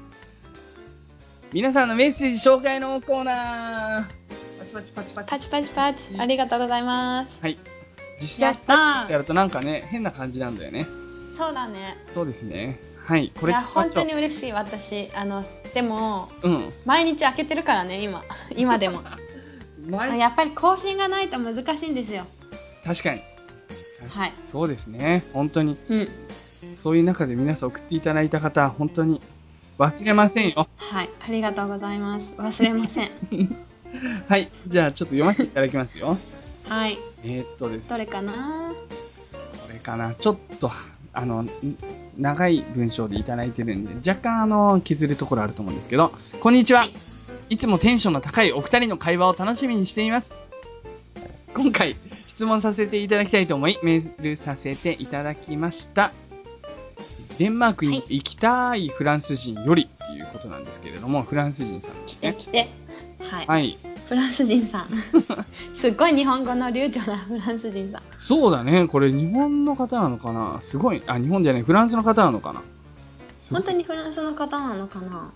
皆さんのメッセージ紹介のコーナー。パチパチパチパチ。 パチパチパチ。ありがとうございます。 はい。実際パチやるとなんかね、変な感じなんだよね。 そうだね。 そうですね。はい、これ。 いや、本当に嬉しい、私。あの、でも、 うん、 毎日開けてるからね、今。今でも。やっぱり更新がないと難しいんですよ。 確かに。 確かに。はい。 そうですね。本当に。 うん。 そういう中で皆さん送っていただいた方、本当に忘れませんよ。 はい。ありがとうございます。忘れません。 はい。じゃあ、ちょっと読ませていただきますよ。 はい。 えー、っとですね。 どれかな？ これかな。ちょっと、あの、長い文章でいただいてるんで、若干あの、削るところあると思うんですけど、こんにちは。はい、いつもテンションの高いお二人の会話を楽しみにしています。今回、質問させていただきたいと思い、メールさせていただきました。デンマークに行きたいフランス人よりっていうことなんですけれども、フランス人さんですね。 来て来て。はい。 はい。 フランス人さん。すっごい日本語の流暢なフランス人さん。 そうだね。これ日本の方なのかな？すごい。あ、日本じゃない。フランスの方なのかな？ 本当にフランスの方なのかな？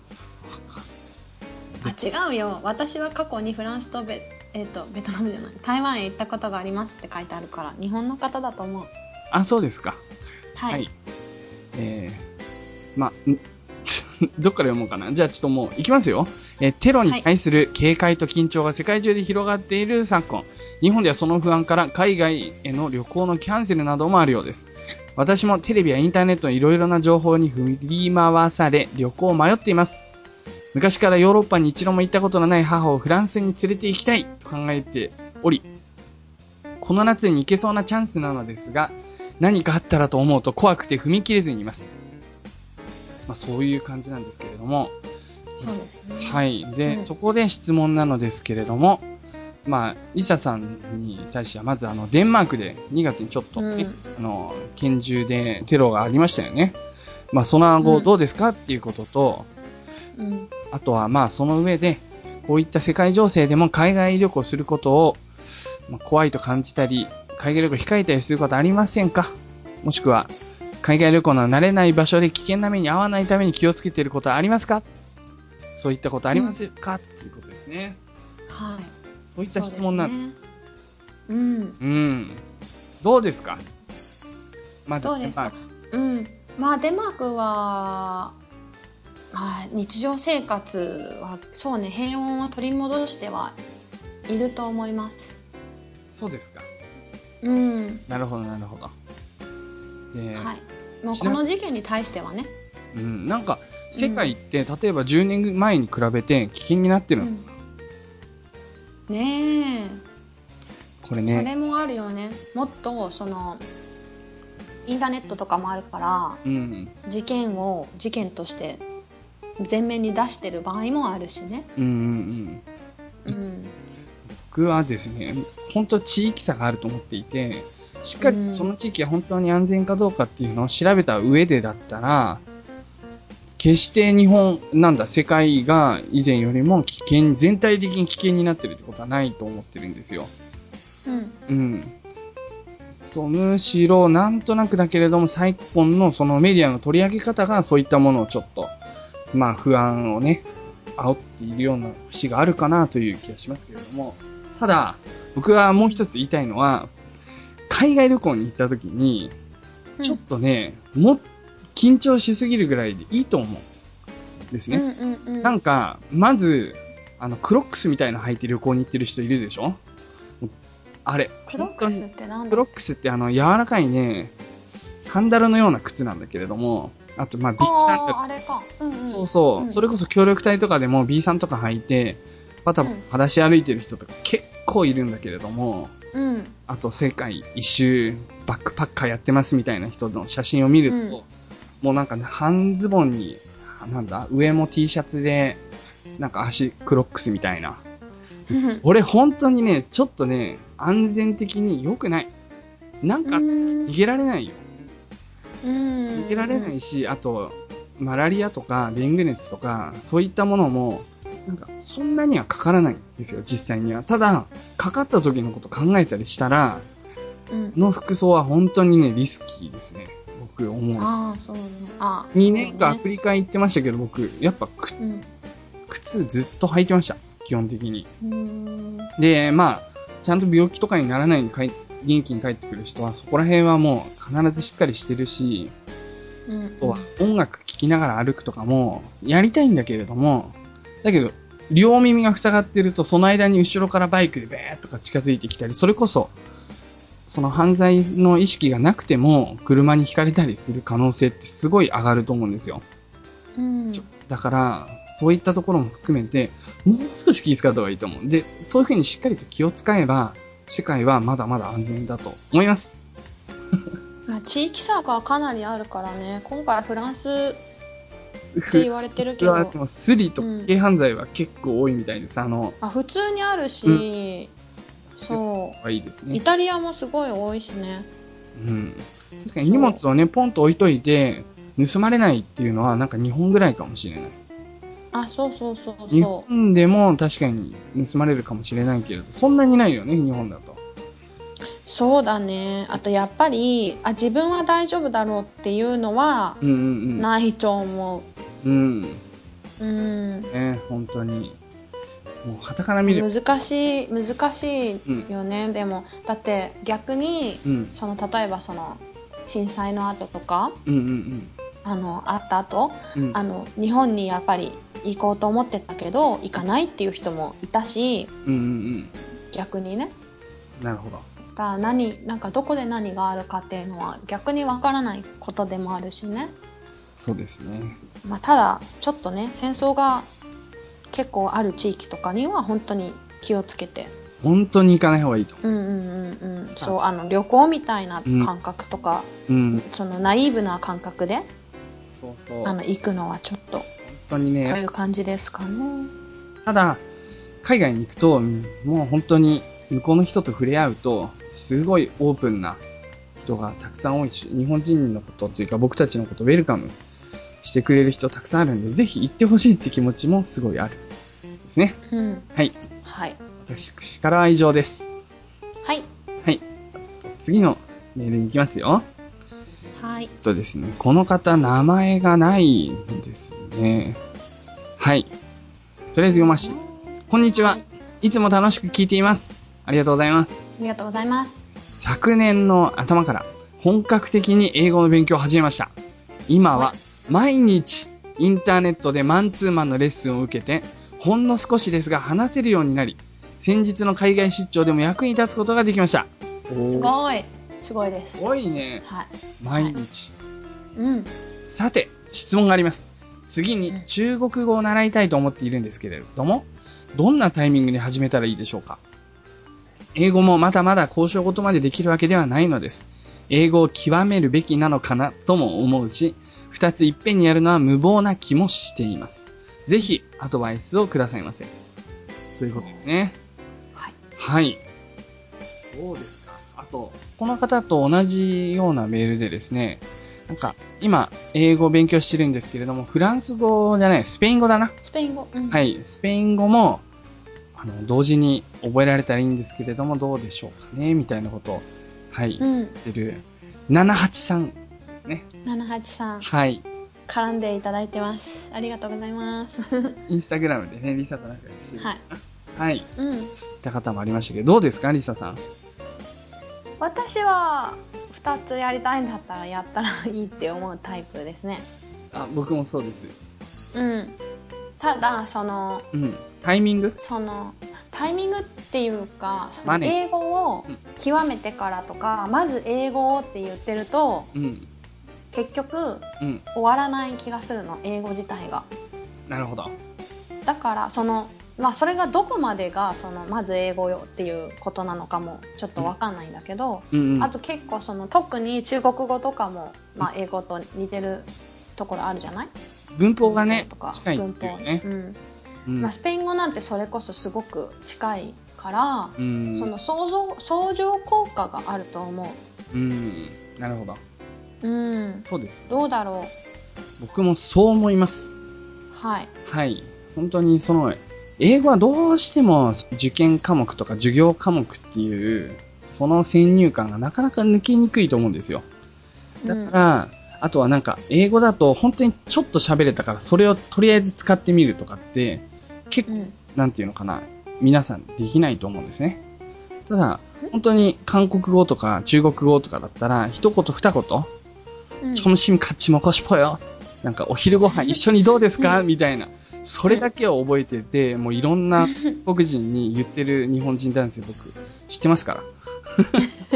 あ、違うよ。私は過去にフランスとベ、えっと、ベトナムじゃない。台湾へ行ったことがありますって書いてあるから、日本の方だと思う。 あ、そうですか。 はい。はい、 えー、ま、どっから読もうかな。じゃあちょっともう行きますよ。えー、テロに対する警戒と緊張が世界中で広がっている昨今。日本ではその不安から海外への旅行のキャンセルなどもあるようです。私もテレビやインターネットのいろいろな情報に振り回され旅行を迷っています。昔からヨーロッパに一度も行ったことのない母をフランスに連れて行きたいと考えており、この夏に行けそうなチャンスなのですが、何かあったらと思うと怖くて踏み切れずにいます。まあそういう感じなんですけれども。 そうですね。 はい。で、うん、そこで質問なのですけれども、まあ、リサさんに対しては、まずあの、デンマークでにがつにちょっと、ね、うん、あの、拳銃でテロがありましたよね。 まあその後どうですかっていうことと、 うん、 あとはまあその上で、こういった世界情勢でも海外旅行することを、まあ、怖いと感じたり、海外旅行控えたりすることありませんか？もしくは、海外旅行の慣れない場所で危険な目に遭わないために気をつけていることはありますか？そういったことありますか、うん、っていうことですね。 はい。 そういった質問なんです。 うん。 うん。どうですか？まず、 どうですか？うん。まあ、デンマークは、まあ、日常生活は、そうね、平穏は取り戻してはいると思います。 そうですか。 うん。 なるほど、なるほど。で、 はい。もうこの事件に対してはね。 うん。なんか、世界って、うん、例えばじゅうねんまえに比べて危険になってるのかな、 うん、ねえ。 これね。 それもあるよね。もっと、その、インターネットとかもあるから、 うん、 事件を事件として前面に出してる場合もあるしね。 うんうんうん。うん、 僕はですね、本当地域差があると思っていて、しっかりその地域が本当に安全かどうかっていうのを調べた上でだったら、決して日本、なんだ、世界が以前よりも危険、全体的に危険になってるってことはないと思ってるんですよ。 うん。 うん。そう、むしろ、なんとなくだけれども、昨今のそのメディアの取り上げ方がそういったものをちょっと、まあ不安をね、煽っているような節があるかなという気がしますけれども、ただ、僕はもう一つ言いたいのは、海外旅行に行った時に、ちょっとね、うん、も、緊張しすぎるぐらいでいいと思うんですね。 うんうんうん、 なんか、まず、あの、クロックスみたいな履いて旅行に行ってる人いるでしょ？あれ。 クロックスってなんだ？ クロックスってあの、柔らかいね、サンダルのような靴なんだけれども、あと、まあ、B さんとか。 あれか。うんうん。 そうそう。うん、それこそ協力隊とかでも B さんとか履いて、パタパタ裸足歩いてる人とか結構いるんだけれども、うん。あと、世界一周、バックパッカーやってますみたいな人の写真を見ると、うん、もうなんかね、半ズボンに、なんだ、上も T シャツで、なんか足クロックスみたいな。俺本当にね、ちょっとね、安全的に良くない。なんか、逃げられないよ。逃げられないし、あと、マラリアとかデング熱とか、そういったものも、なんか、そんなにはかからないんですよ、実際には。ただ、かかった時のこと考えたりしたら、うん、の服装は本当にね、リスキーですね。僕思う。 ああ、そうね。ああ、 にねんかんアフリカ行ってましたけど、僕、やっぱく、うん、靴ずっと履いてました。基本的に。で、まあ、ちゃんと病気とかにならないように元気に帰ってくる人は、そこら辺はもう必ずしっかりしてるし、うんうん、あとは音楽聴きながら歩くとかも、やりたいんだけれども、だけど、両耳が塞がってると、その間に後ろからバイクでベーッとか近づいてきたり、それこそ、その犯罪の意識がなくても、車にひかれたりする可能性ってすごい上がると思うんですよ。うん、だから、そういったところも含めて、もう少し気遣った方がいいと思う。で、そういう風にしっかりと気を使えば、世界はまだまだ安全だと思います。 まあ、地域差がかなりあるからね。今回フランスって言われてるけど。 でもスリとか軽犯罪は結構多いみたいです。うん、あの、 あ、普通にあるし、うん、そう。 いいですね。 イタリアもすごい多いしね。 うん。確かに荷物をね、ポンと置いといて、盗まれないっていうのはなんか日本ぐらいかもしれない。 あ、そうそうそうそう。 日本でも確かに盗まれるかもしれないけれど、そんなにないよね、日本だと。 そうだね。あとやっぱり、あ、自分は大丈夫だろうっていうのは、ないと思う。うん。 うん。うん。 ね、本当に。もう、傍から見る。 難しい、難しいよね。うん、でも、だって逆に、うん、その、例えばその、震災の後とか、うんうんうん、あの、あった後、うん、あの、日本にやっぱり行こうと思ってたけど、行かないっていう人もいたし、うんうんうん、逆にね。 なるほど。 が何、なんかどこで何があるかっていうのは逆にわからないことでもあるしね。 そうですね。 まあ、ただ、ちょっとね、戦争が結構ある地域とかには本当に気をつけて。 本当に行かない方がいいと。 うんうんうんうん。そう、あの、旅行みたいな感覚とか、うん、そのナイーブな感覚で、 そうそう。 あの、行くのはちょっと、本当にね。 という感じですかね。 ただ、海外に行くと、もう本当に向こうの人と触れ合うと、すごいオープンな人がたくさん多いし、日本人のことというか僕たちのことウェルカムしてくれる人たくさんあるんで、ぜひ行ってほしいって気持ちもすごいある。ですね。 うん。 はい。 はい。 私からは以上です。 はい。 はい。次のメールに行きますよ。 はい。 えっとですね、この方、名前がないんですね。はい。とりあえず読まして。こんにちは。いつも楽しく聞いています。ありがとうございます。 ありがとうございます。 昨年の頭から本格的に英語の勉強を始めました。今は毎日インターネットでマンツーマンのレッスンを受けて、ほんの少しですが話せるようになり、先日の海外出張でも役に立つことができました。 すごい。すごいです。 すごいね。 はい。 毎日。 はい、うん。 さて、質問があります。次に中国語を習いたいと思っているんですけれども、どんなタイミングで始めたらいいでしょうか？英語もまだまだ交渉事までできるわけではないのです。英語を極めるべきなのかなとも思うし、二ついっぺんにやるのは無謀な気もしています。ぜひアドバイスをくださいませ。ということですね。 はい。 はい。そうですか。あと、この方と同じようなメールでですね、なんか、今、英語を勉強してるんですけれども、フランス語じゃない、スペイン語だな。 スペイン語。うん、 はい。スペイン語も、あの、同時に覚えられたらいいんですけれども、どうでしょうかね、みたいなことを、はい、うん、言ってる、ななはちさんですね。 ななはちさん。 はい。 絡んでいただいてます。ありがとうございます。 インスタグラムでね、リサと仲良くしてる。 はい。 はい。 うん。 そういった方もありましたけど、どうですか、リサさん。 私は、二つやりたいんだったらやったらいいって思うタイプですね。 あ、僕もそうです。 うん。ただ、その、 うん。タイミングその、タイミングっていうか、その英語を極めてからとか、うん、まず英語をって言ってると、うん、結局、うん、終わらない気がするの、英語自体が。 なるほど。 だから、その、まあ、それがどこまでが、その、まず英語よっていうことなのかも、ちょっとわかんないんだけど、うんうん、あと結構、その、特に中国語とかも、まあ、英語と似てるところあるじゃない？ 文法がね、 文法とか近いっていうね。 文法。うん。うん、まあ、スペイン語なんてそれこそすごく近いから、うん、その相乗、相乗効果があると思う。 うん。なるほど。 うん。 そうです、ね。 どうだろう。僕もそう思います。 はい。 はい。本当にその、英語はどうしても受験科目とか授業科目っていう、その先入観がなかなか抜けにくいと思うんですよ。だから、うん、あとはなんか、英語だと本当にちょっと喋れたから、それをとりあえず使ってみるとかって、結構、うん、なんていうのかな、皆さんできないと思うんですね。ただ、本当に韓国語とか中国語とかだったら、一言二言、うん、점심 같이 먹고 싶어요。なんか、お昼ご飯一緒にどうですかみたいな。それだけを覚えてて、もういろんな韓国人に言ってる日本人男性僕、知ってますから。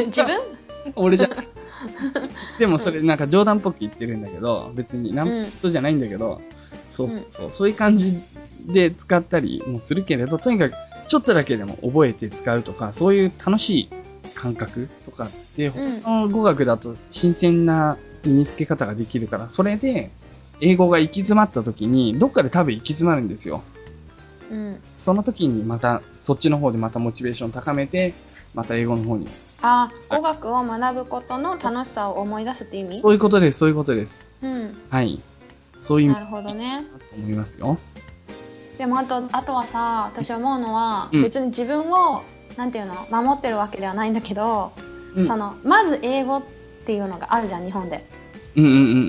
自分俺じゃない。でもそれなんか冗談っぽく言ってるんだけど、別になんとじゃないんだけど、うん、そうそうそう、そういう感じで使ったりもするけれど、とにかくちょっとだけでも覚えて使うとか、そういう楽しい感覚とかって、うん、他の語学だと新鮮な身につけ方ができるから、それで英語が行き詰まった時に、どっかで多分行き詰まるんですよ。うん。その時にまた、そっちの方でまたモチベーション高めて、また英語の方に。 ああ、語学を学ぶことの楽しさを思い出すっていう意味？ そういうことです、そういうことです。 うん。 はい。そういう意味。 なるほどね。 と思いますよ。 でもあと、あとはさ、私思うのは、うん、別に自分を、なんていうの、守ってるわけではないんだけど、うん、その、まず英語っていうのがあるじゃん、日本で。 うんうんうんうんうん。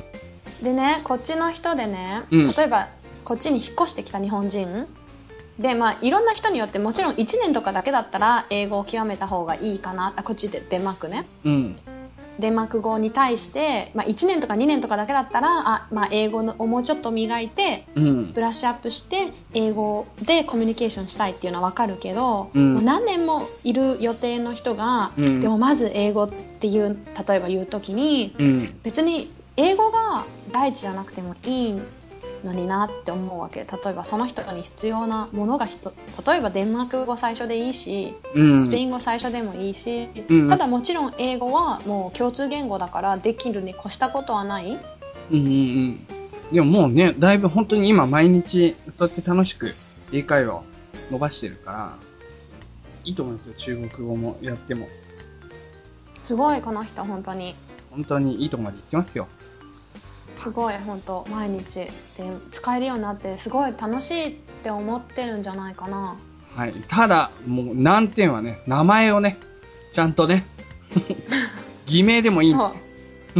でね、こっちの人でね、うん、例えば、こっちに引っ越してきた日本人で、まあ、いろんな人によってもちろんいちねんとかだけだったら英語を極めた方がいいかな。あ、こっちでデンマークね。うん。デンマーク語に対して、まあ、いちねんとかにねんとかだけだったら、あ、まあ、英語をもうちょっと磨いて、うん、ブラッシュアップして英語でコミュニケーションしたいっていうのはわかるけど、うん、もう何年もいる予定の人が、うん、でもまず英語っていう、例えば言うときに、うん、別に英語が第一じゃなくてもいいのになって思うわけ。例えばその人に必要なものが人、例えばデンマーク語最初でいいし、うん、スペイン語最初でもいいし、うん、ただもちろん英語はもう共通言語だからできるに越したことはない。 うんうんうん。でももうね、だいぶ本当に今毎日そうやって楽しく英会話を伸ばしてるから、いいと思うんですよ、中国語もやっても。 すごい、この人本当に。 本当にいいとこまで行きますよ。 すごい本当毎日で使えるようになってすごい楽しいって思ってるんじゃないかな。 はい。ただ、もう難点はね、名前をね、ちゃんとね、偽名でもいいんで。 そう。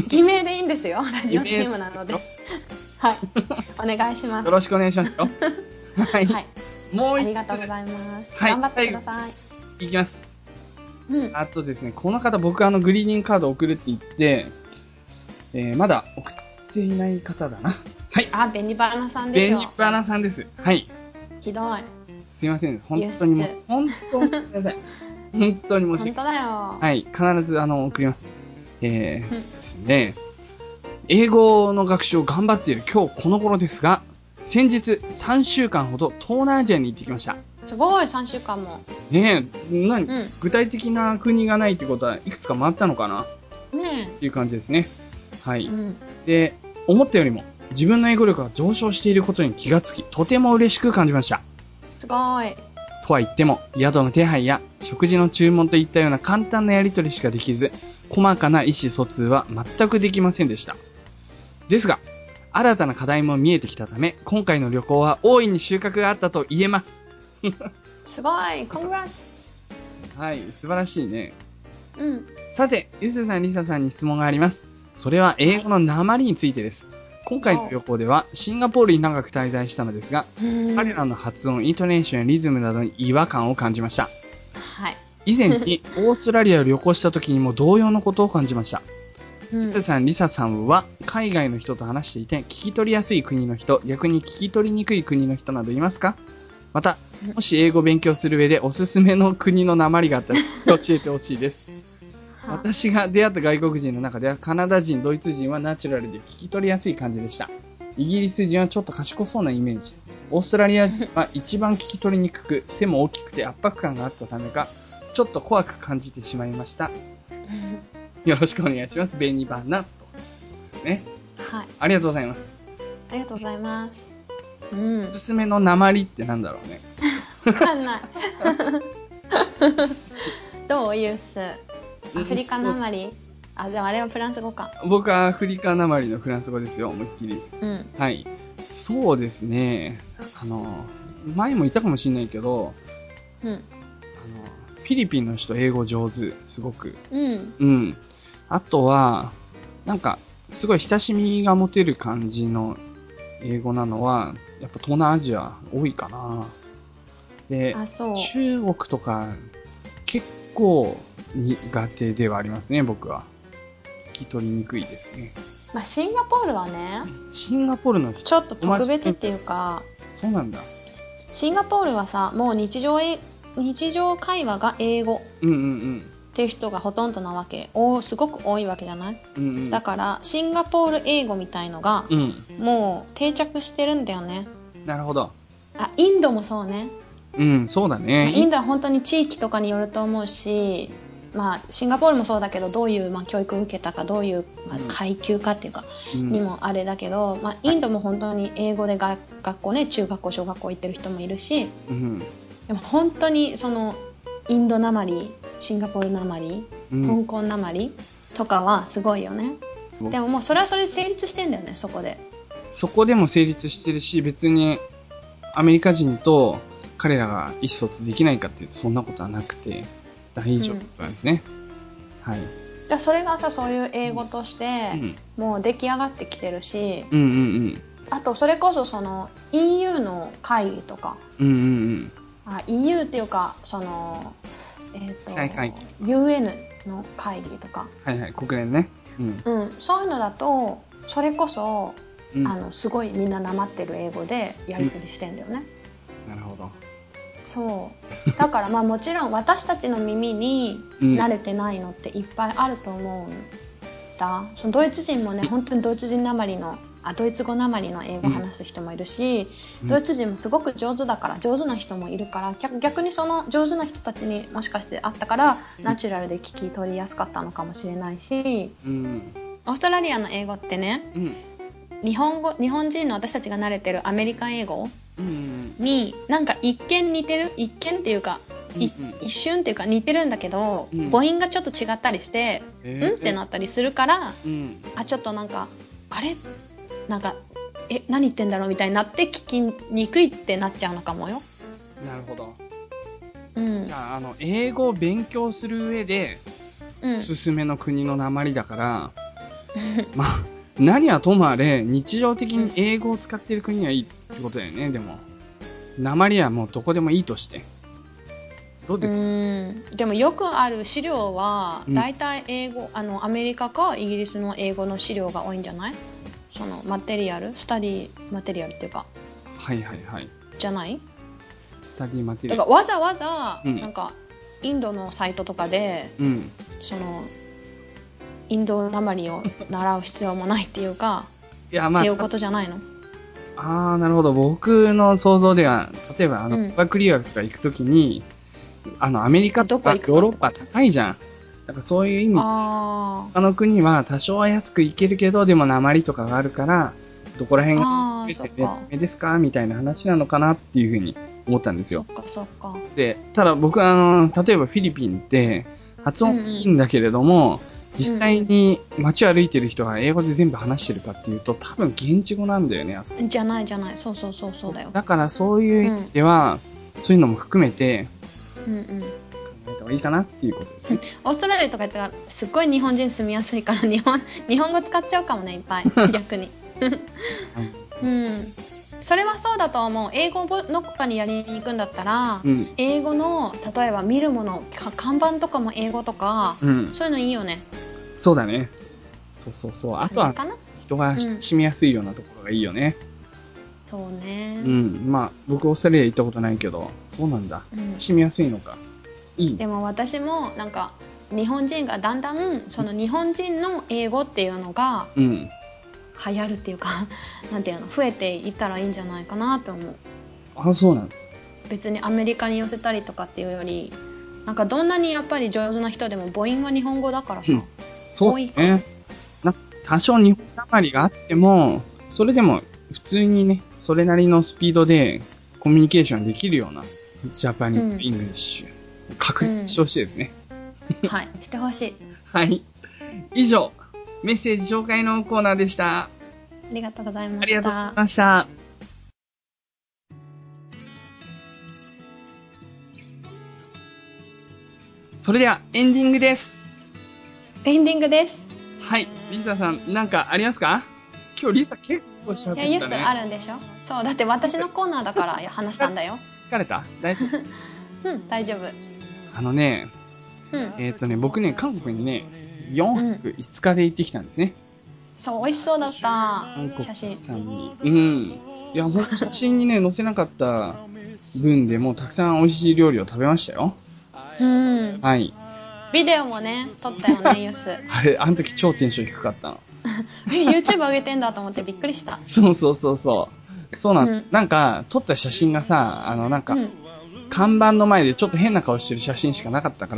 偽名でいいんですよ。ラジオネームなので。はい。お願いします。 よろしくお願いしますよ。はい。はい、もう一つ。 ありがとうございます。 はい。 頑張ってください。 いきます。 うん。 あとですね、この方僕あのグリーディングカード送るって言って、えー、まだ送っていない方だな。はい。 あ、ベニバナさんでしょ。 ベニバナさんです。はい。 ひどい。 すいません。本当にもう、本当にごめんなさい。本当に申し訳ない。 本当だよ。 はい。必ずあの、送ります。えー、ですね。英語の学習を頑張っている今日この頃ですが、先日さんしゅうかんほど東南アジアに行ってきました。 すごい、さんしゅうかんも。 ねえ、何、 うん、 具体的な国がないってことはいくつか回ったのかなねえ。 っていう感じですね。はい、 うん。 で、思ったよりも自分の英語力が上昇していることに気がつき、とても嬉しく感じました。 すごい。 とは言っても、宿の手配や食事の注文といったような簡単なやり取りしかできず、細かな意思疎通は全くできませんでした。ですが、新たな課題も見えてきたため、今回の旅行は大いに収穫があったと言えます。 すごい、コングラッツ。 はい、素晴らしいね。 うん。 さて、ゆずさん、りささんに質問があります。それは英語の訛りについてです。はい、今回の旅行ではシンガポールに長く滞在したのですが、彼らの発音、イントネーションやリズムなどに違和感を感じました。 はい。 以前にオーストラリアを旅行した時にも同様のことを感じました。リサさん、リサさんは海外の人と話していて聞き取りやすい国の人、逆に聞き取りにくい国の人などいますか？また、もし英語を勉強する上でおすすめの国の訛りがあったら教えてほしいです。私が出会った外国人の中ではカナダ人、ドイツ人はナチュラルで聞き取りやすい感じでした。イギリス人はちょっと賢そうなイメージ。オーストラリア人は一番聞き取りにくく、背も大きくて圧迫感があったためか、ちょっと怖く感じてしまいました。よろしくお願いします。ベニバナとですね。 はい。 ありがとうございます。 ありがとうございます。うん。 おすすめの訛りってなんだろうね。 わかんない。どうユース。アフリカ訛り？あ、でもあれはフランス語か。 僕はアフリカ訛りのフランス語ですよ、思いっきり。 うん。 はい。そうですね。あの、前も言ったかもしれないけど、 うん。あの、フィリピンの人英語上手、すごく。 うん。 うん。あとは、なんか、すごい親しみが持てる感じの英語なのは、やっぱ東南アジア多いかな。で、 あ、そう。 中国とか、結構苦手ではありますね、僕は。聞き取りにくいですね。 まあ、シンガポールはね、 シンガポールの人ちょっと特別っていうか、 そうなんだ。 シンガポールはさ、もう日常え日常会話が英語うんうんうんっていう人がほとんどなわけ。おすごく多いわけじゃない？ うんうん、 だからシンガポール英語みたいのが、 うん、 もう定着してるんだよね。 なるほど。 あ、インドもそうね。 うん、そうだね。 インドは本当に地域とかによると思うし、まあ、シンガポールもそうだけど、どういう、まあ、教育を受けたか、どういう、まあ、階級かっていうか、うん、にもあれだけど、まあ、インドも本当に英語でが学校ね、中学校、小学校行ってる人もいるし、 うん、 でも本当にそのインドなまり、シンガポールなまり、うん、香港なまりとかはすごいよね。でももうそれはそれで成立してんだよね、そこで。そこでも成立してるし、別にアメリカ人と彼らが意思疎通できないかっていうとそんなことはなくて大丈夫なんですね。うん、はい。 だそれがさ、そういう英語としてもう出来上がってきてるし、 うんうんうん、 あとそれこそその イーユー の会議とか、 うんうんうん、 あ イーユー っていうかそのえっ、ー、と ユーエヌ の会議とか、 はいはい、国連ね、 うん、うん、そういうのだとそれこそ、うん、あのすごいみんななまってる英語でやり取りしてんだよね。 うん、なるほど。 そうだからまあもちろん私たちの耳に慣れてないのっていっぱいあると思うんだ。そのドイツ人もね、本当にドイツ人なまりのあドイツ語なまりの英語を話す人もいるし、うん、ドイツ人もすごく上手だから上手な人もいるから逆、逆にその上手な人たちにもしかしてあったからナチュラルで聞き取りやすかったのかもしれないし、うん、オーストラリアの英語ってね、うん、日本語日本人の私たちが慣れてるアメリカ英語になんか一見似てる一見っていうか、うんうん、一瞬っていうか似てるんだけど、うん、母音がちょっと違ったりして、えー、うんってなったりするから、うん、あちょっとなんかあれなんか、え、何言ってんだろうみたいになって聞きにくいってなっちゃうのかもよ。 なるほど。 うん。 じゃあ、あの、英語を勉強する上で、うん、おすすめの国の訛りだから、まあ、何はともあれ、日常的に英語を使っている国はいいってことだよね、でも。訛りはもうどこでもいいとして。どうですか？ うーん。でもよくある資料は、だいたい英語、うん、あの、アメリカかイギリスの英語の資料が多いんじゃない？その、マテリアルスタディマテリアルっていうか。 はいはいはい。 じゃない？ スタディマテリアル。 だからわざわざ、うん、なんか、インドのサイトとかで、うん、その、インド訛りを習う必要もないっていうか、いや、まあ、っていうことじゃないの？ ああ、なるほど。僕の想像では、例えば、あの、語学留学とか行くときに、あの、アメリカとかヨーロッパ高いじゃん。だからそういう意味、あの国は多少は安く行けるけど、でも訛りとかがあるから、どこら辺が目ですかみたいな話なのかなっていうふうに思ったんですよ。 そっかそっか。 で、ただ僕はあの、例えばフィリピンって発音いいんだけれども、うんうん、実際に街を歩いてる人が英語で全部話してるかっていうと、多分現地語なんだよね、あそこ。 じゃないじゃない。そうそうそうそうだよ。 だからそういう意味では、うん、そういうのも含めて、 うんうん、 考えた方がいいかなっていうことですね。 オーストラリアとか言ったらすっごい日本人住みやすいから日本日本語使っちゃうかもね、いっぱい逆に、うん、それはそうだと思う。英語の他にやりに行くんだったら、うん、英語の例えば見るもの看板とかも英語とか、うん、そういうのいいよね。 そうだね。そうそうそう。あとは人が親しみやすいようなところがいいよね。 うん、そうね。 うん。まあ僕オーストラリア行ったことないけど、そうなんだ。親しみやすいのか。いい。 でも私もなんか日本人がだんだんその日本人の英語っていうのが流行るっていうか、うん、なんていうの増えていったらいいんじゃないかなと思う。 あ、そうなの。 別にアメリカに寄せたりとかっていうより、なんかどんなにやっぱり上手な人でも母音は日本語だからさ。うん、 そうね。な多少日本なまりがあっても、それでも普通にね、それなりのスピードでコミュニケーションできるようなジャパニーズ・イングリッシュ、うん、確立してほしいですね。 うん、はい、してほしい。 はい。以上、メッセージ紹介のコーナーでした。 ありがとうございました。 ありがとうございました。それではエンディングです。 エンディングです。 はい。リサさん、なんかありますか？今日リサ結構しゃべったね。 いや、ユースあるんでしょ？そう、だって私のコーナーだから話したんだよ。 疲れた？大丈夫？うん、大丈夫。 あのね、うん、えーっとね、僕ね、韓国にね、よんはくいつかで行ってきたんですね。うん、 そう、美味しそうだった。 韓国さんに。うん。いや、ほんと写真にね、載せなかった分でもたくさん美味しい料理を食べましたよ。 うん。 はい。 ビデオもね、撮ったよね、ユース。 あれ、あの時超テンション低かったの。 YouTube 上げてんだと思ってびっくりした。 そうそうそうそう。そうなん、うん、なんか、撮った写真がさ、あの、なんか、うん、看板の前でちょっと変な顔してる写真しかなかったから、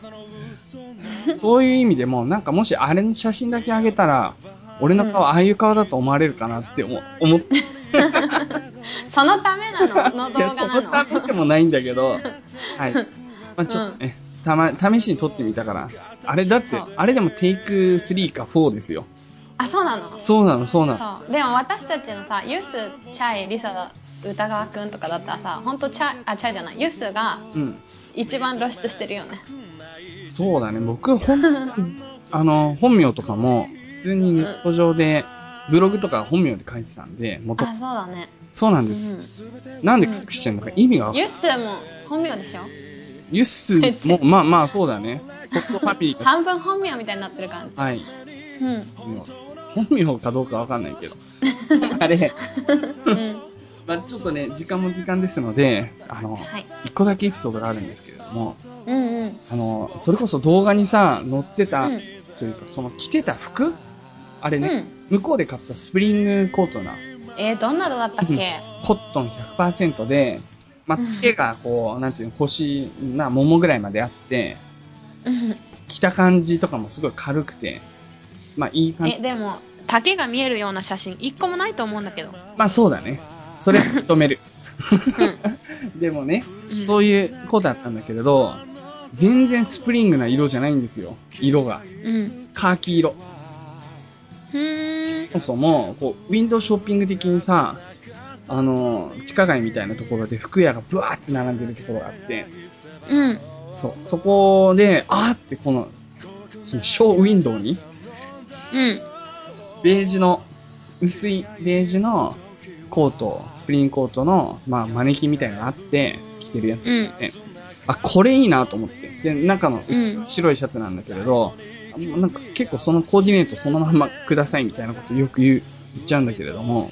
そういう意味でも、なんかもしあれの写真だけあげたら、俺の顔、うん、ああいう顔だと思われるかなって思思って。 そのためなの？の動画なの？ そのためでもないんだけど、はい。まあちょっとね、うん、たま、試しに撮ってみたから。あれだって、あれでもテイクスリーかフォーですよ。 あ、そうなの？ そうなの、そうなの。 そう。でも私たちのさ、ユース、チャイ、リサ、歌川くんとかだったらさ、ほんとチャイ、あ、チャイじゃない、ユースが、一番露出してるよね。 うん、そうだね、僕、ほん、あの、本名とかも、普通にネット上で、うん、ブログとか本名で書いてたんで、元。 あ、そうだね。 そうなんです。うん、なんで隠してんのか意味がわかんない。 ユッスも本名でしょ？ ユッスも、まあまあそうだね。ホストファミリー半分本名みたいになってる感じ。 はい。 うん。 本名です。本名かどうかわかんないけど。あれ。うん。まあちょっとね、時間も時間ですので、あの、はい、一個だけエピソードがあるんですけれども、 うんうん。 あの、それこそ動画にさ、載ってた、うん、というか、その着てた服あれね、うん、向こうで買ったスプリングコートな。 えー、どんなのだったっけ？ コットン ひゃくパーセント で、まあ、手がこう、なんていうの、腰、な、ももぐらいまであって、着た感じとかもすごい軽くて、まあ、いい感じ。 え、でも、丈が見えるような写真、一個もないと思うんだけど。 まあ、そうだね。それ認める。うん、でもね、うん、そういう子だったんだけれど、全然スプリングな色じゃないんですよ。色が。うん。カーキ色。 ふーん。 もそも、こう、ウィンドウショッピング的にさ、あの、地下街みたいなところで服屋がブワーって並んでるところがあって、 うん。 そう、そこで、あーってこの、そのショーウィンドウに、 うん。 ベージュの、薄いベージュのコート、スプリングコートの、まあ、マネキンみたいなのがあって、着てるやつがあって、うん、あ、これいいなと思って。で、中の白いシャツなんだけれど、うん、なんか結構そのコーディネートそのままくださいみたいなことよく言う、言っちゃうんだけれども。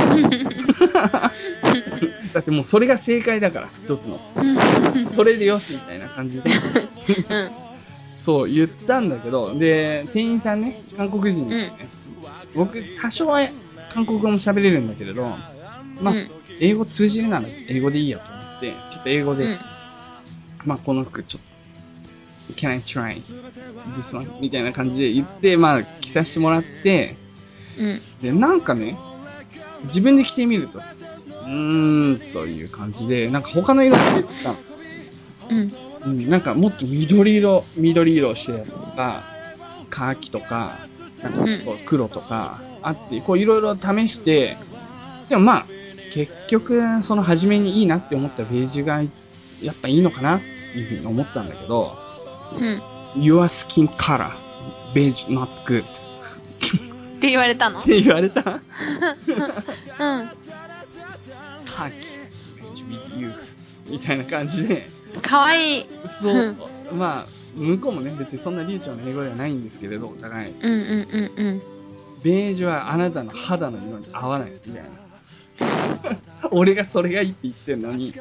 だってもうそれが正解だから、一つの。これでよしみたいな感じで。うん、そう言ったんだけど、で、店員さんね、韓国人、ね、うん、僕多少は韓国語も喋れるんだけれど、まあ、うん、英語通じるなら英語でいいやと思って、ちょっと英語で、うん、まあこの服ちょっと、can I try this one? みたいな感じで言って、まあ着させてもらって、うん、で、なんかね、自分で着てみると、うーん、という感じで、なんか他の色が出てたの。うんうん、なんかもっと緑色、緑色してるやつとか、カーキとか、なんか黒とかあって、こういろいろ試して、でもまあ、結局、その初めにいいなって思ったベージュが、やっぱいいのかなっていうふうに思ったんだけど、うん。Your skin color, beige not good. って言われたの？ って言われた？うん。カーキ、beige with you. みたいな感じで。 かわいい。 そう。まあ、向こうもね、別にそんな流暢な英語ではないんですけれど、お互い。うんうんうんうん。ベージュはあなたの肌の色に合わないみたいな。俺がそれがいいって言ってんのに。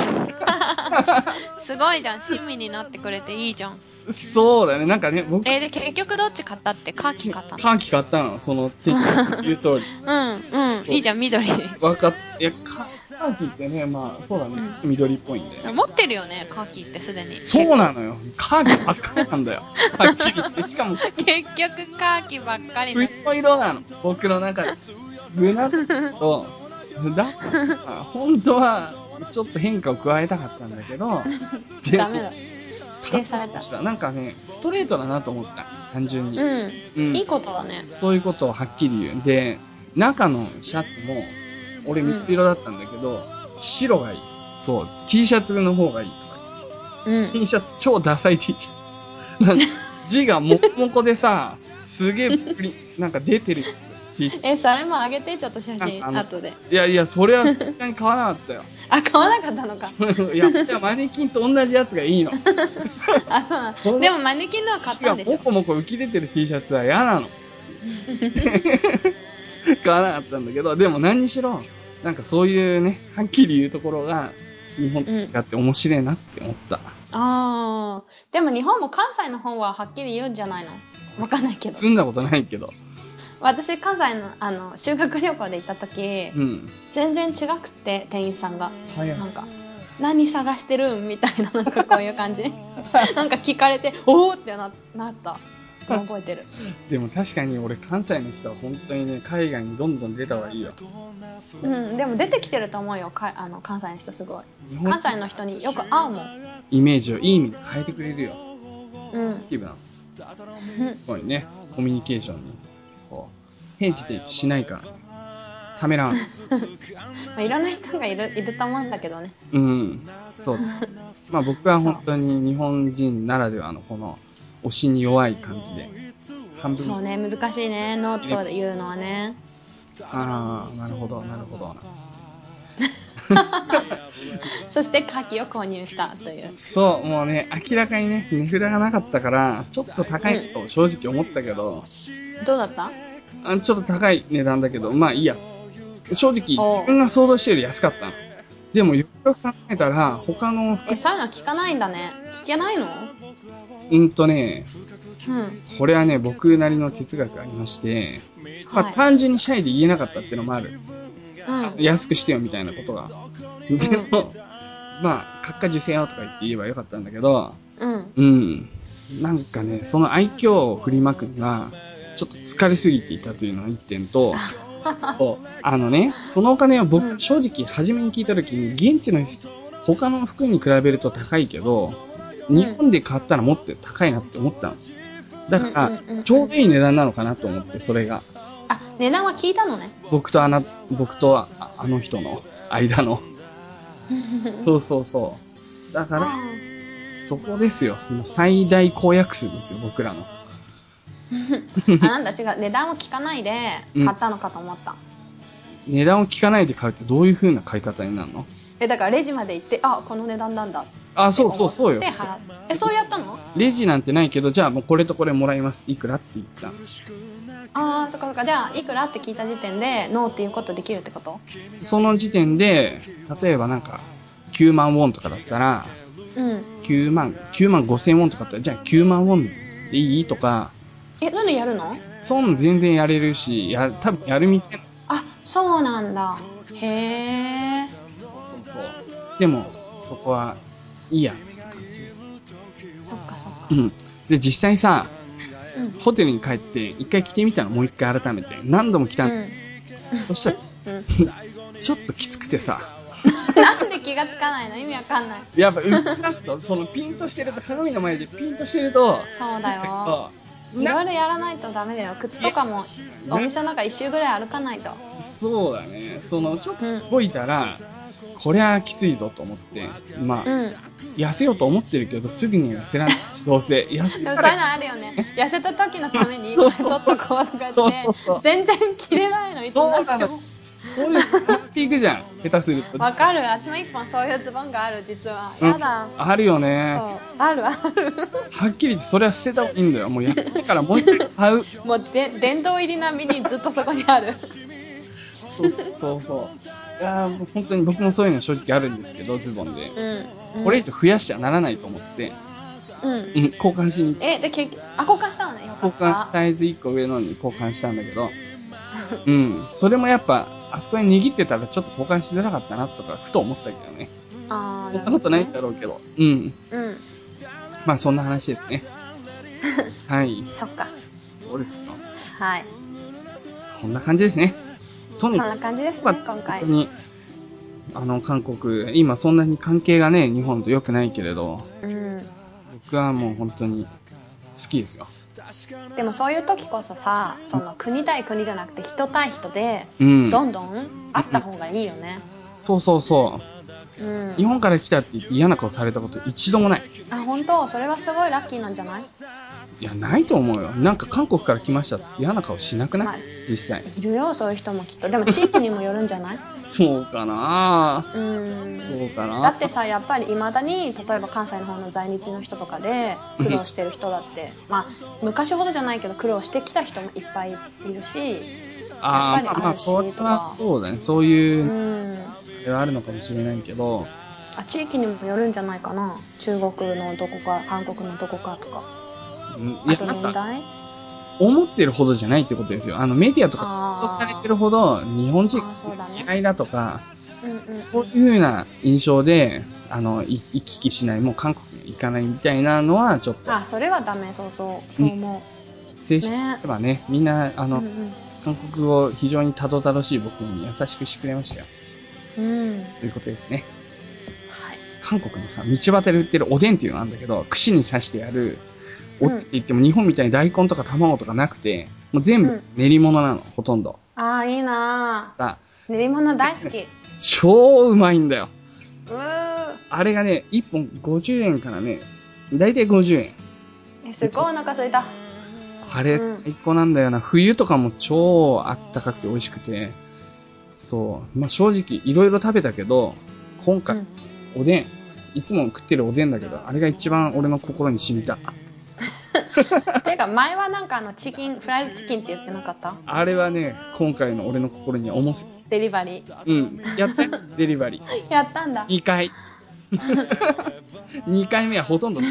すごいじゃん。親身になってくれていいじゃん。 そうだね。なんかね、僕。 えー、で、結局どっち買ったって？カーキ買ったの？ カーキ買ったの。その、言う通り。 うん、うん。いいじゃん、緑。 わかっ、いや、カーキってね、まあ、そうだね。うん、緑っぽいんで。 持ってるよね、カーキってすでに。 そうなのよ。カーキばっかりなんだよ。はっきり言って。しかも。 結局カーキばっかり冬の色なの。僕の中で。ブナと、だ本当は、ちょっと変化を加えたかったんだけど、 ダメだ。否定された。 なんかね、ストレートだなと思った。単純に。 うん。うん、いいことだね。 そういうことをはっきり言う。で、中のシャツも、俺緑色だったんだけど、うん、白がいい。そう、T シャツの方がいいとか言って。うん。T シャツ超ダサい T シャツ。なんか字がもこもこでさ、すげえプリ、なんか出てるやつ。 え、それもあげて、ちょっと写真、後で。 いやいや、それはさすがに買わなかったよ。 あ、買わなかったのか。 いや、いやマネキンと同じやつがいいの。 あ、そうなんです。でもマネキンのは買ったんでしょ。 もこもこ浮き出てる T シャツは嫌なの。買わなかったんだけど、でも何にしろ、なんかそういうね、はっきり言うところが、日本と使って面白いなって思った。うん、 あー。でも日本も関西の方ははっきり言うんじゃないの？わかんないけど。 住んだことないけど。 私、関西の、あの、修学旅行で行った時、うん、全然違くて、店員さんが。はい、なんか、何探してるんみたいな、なんかこういう感じ。なんか聞かれて、おーってな、なった。覚えてる。 でも確かに俺、関西の人は本当にね、海外にどんどん出た方がいいよ。 うん、でも出てきてると思うよ、かあの関西の人すごい。関西の人によく会うもん。 イメージをいい意味に変えてくれるよ。 うん。 ポジティブな。すごいね、コミュニケーションに。こう、変してしないからね。ためらわない。 まあ、いろんな人がいる、いると思うんだけどね。 うん。そう。まあ僕は本当に日本人ならではのこの、推しに弱い感じで。 半分。そうね、難しいね、ノートで言うのはね。 ああ、なるほど、なるほど、なんですね。 そしてカキを購入したという。 そう、もうね、明らかにね、値札がなかったから、ちょっと高いと正直思ったけど。 うん、どうだった？ あ、ちょっと高い値段だけど、まあいいや。正直、自分が想像してより安かったの。でも、よくよく考えたら、他の。 え、そういうの聞かないんだね。聞けないの？ うんとね、 うん。 これはね、僕なりの哲学がありまして、まあ、はい、単純にシャイで言えなかったっていうのもある。うん。安くしてよみたいなことが。でも、うん、まあ、閣下受精よとか言って言えばよかったんだけど、うん。うん。なんかね、その愛嬌を振りまくのが、ちょっと疲れすぎていたというのが一点と、あのね、そのお金は僕、正直初めに聞いたときに、現地の他の服に比べると高いけど、日本で買ったらもっと高いなって思ったの。だから、ちょうどいい値段なのかなと思って、それが。 あ、値段は聞いたのね。 僕とあな、僕とああの人の間の。そうそうそう。だから、そこですよ。最大公約数ですよ、僕らの。 あ、なんだ違う。値段を聞かないで買ったのかと思った。 うん、値段を聞かないで買うってどういう風な買い方になるの？ え、だからレジまで行って、あ、この値段なんだ。 あ、そうそうそうよ。 え、そうやったの？ レジなんてないけど、じゃあもうこれとこれもらいます。いくらって言った。 ああ、そっかそっか。じゃあ、いくらって聞いた時点で、ノーっていうことできるってこと？ その時点で、例えばなんか、きゅうまんウォンとかだったら、うん。きゅうまん、きゅうまんごせんウォンとかだったら、じゃあきゅうまんウォンでいいとか。 え、そういうのやるの？ そういうの全然やれるし、や、多分やる店。 あ、そうなんだ。へえ。 そうそう。でも、そこは、いいやって感じ。 そっかそっか。 うん。で、実際さ、うん、ホテルに帰って、一回着てみたの、もう一回改めて。何度も着たの。うん、そしたら、うん、ちょっときつくてさ。 なんで気がつかないの？意味わかんない。 やっぱ、動かすと、そのピンとしてると、鏡の前でピンとしてると。 そうだよ。いろいろやらないとダメだよ。靴とかも、お店の中一周ぐらい歩かないと。 そうだね。その、ちょっと動いたら、うん、こりゃきついぞと思って。まあ、うん、痩せようと思ってるけど、すぐには痩せらんないし、どうせ。痩せでもそういうのあるよね。痩せた時のために、今ちょっとこうとかって、全然着れないの、いつも。 そうなの。そういうの持っていくじゃん。下手すると。 わかる。私も一本そういうズボンがある、実は。やだ。 うん、あるよね。 そう。あるある。 はっきり言って、それは捨てた方がいいんだよ。もうやってからもう一回買う。 もうで、殿堂入り並みにずっとそこにある。 そうそうそう。いやー、本当に僕もそういうの正直あるんですけど、ズボンで。うん。これ以上増やしちゃならないと思って。うん。うん、交換しに行って。 え、で、結局、あ、交換したのね。よかった。 交換、サイズいっこ上のに交換したんだけど。うん。それもやっぱ、あそこに握ってたらちょっと交換しづらかったなとか、ふと思ったけどね。ああ。そんなことないんだろうけど。うん。うん。まあそんな話ですね。はい。 そっか。 そうですか。 はい。 そんな感じですね。 そんな感じですね、今回。 本当に、あの、韓国、今そんなに関係がね、日本と良くないけれど、うん、僕はもう本当に好きですよ。 でもそういう時こそさ、その国対国じゃなくて人対人で、どんどん会った方がいいよね。 うん、そうそうそう、うん。日本から来たって言って嫌な顔されたこと一度もない。 あ、本当？それはすごいラッキーなんじゃない？ いや、ないと思うよ。なんか韓国から来ましたっつって嫌な顔しなくない、まあ、実際。 いるよ、そういう人もきっと。でも地域にもよるんじゃない？ そうかなぁ。うん。そうかなぁ。 だってさ、やっぱり未だに、例えば関西の方の在日の人とかで苦労してる人だって、まあ、昔ほどじゃないけど苦労してきた人もいっぱいいるし、 ああ、まあ、それはそうだね。そういう、うん。あるのかもしれないけど。 あ、地域にもよるんじゃないかな。中国のどこか、韓国のどこかとか。あと年代？ 思ってるほどじゃないってことですよ。あのメディアとか報道されてるほど日本人嫌いだとか、そういう風な印象で、あの、行き来しない、もう韓国に行かないみたいなのはちょっと。 あ、それはダメ、そうそう。そう思う。正式にすればね、みんな、あの、うんうん、韓国語非常にたどたどしい僕に優しくしてくれましたよ。うん。ということですね。はい。韓国のさ、道端で売ってるおでんっていうのがあるんだけど、串に刺してやる、おって言っても日本みたいに大根とか卵とかなくて、もう全部練り物なの、うん、ほとんど。 ああ、いいなぁ。練り物大好き。 超うまいんだよ。 うー。 あれがね、いっぽんごじゅうえんからね、だいたいごじゅうえん。 え、すごいお腹空いた。 あれ、最高なんだよな。冬とかも超あったかくて美味しくて。そう。まあ、正直、いろいろ食べたけど、今回、うん、おでん。いつも食ってるおでんだけど、あれが一番俺の心に染みた。 ていうか、前はなんかあの、チキン、フライドチキンって言ってなかった？ あれはね、今回の俺の心に重す。 デリバリー。 うん。やったデリバリー。やったんだ。 にかい。にかいめはほとんど。ち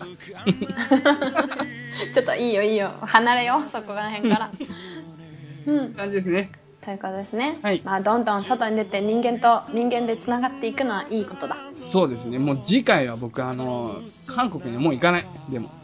ょっといいよいいよ。離れよう、そこら辺から。 うん。感じですね。 ということですね。 はい。 まあ、どんどん外に出て人間と人間で繋がっていくのはいいことだ。 そうですね。もう次回は僕、あの、韓国にはもう行かない。でも。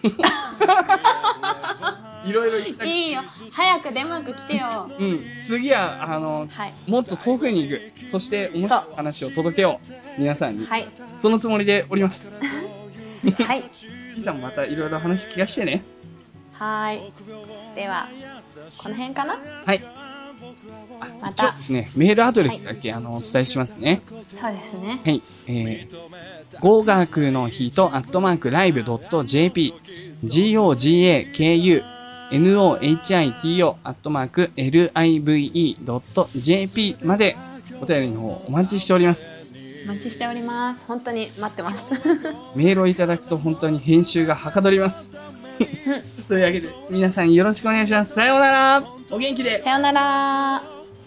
いろいろ行ったいいよ。早くデンマーク来てよ。 うん。次は、あの、はい、もっと遠くに行く。そして、面白い話を届けよう。皆さんに。はい。そのつもりでおります。 はい。 ピーさんもまたいろいろ話聞かしてね。 はい。では、この辺かな？ はい。また。ですね、メールアドレスだけ、はい、あの、お伝えしますね。 そうですね。 はい。えー、語学の日と、アットマーク、ライブ .jp、gogakunohito、アットマーク、live.jp まで、お便りの方、お待ちしております。 お待ちしております。本当に待ってます。 メールをいただくと本当に編集がはかどります。というわけで、皆さんよろしくお願いします。さようなら。お元気で。 さようなら。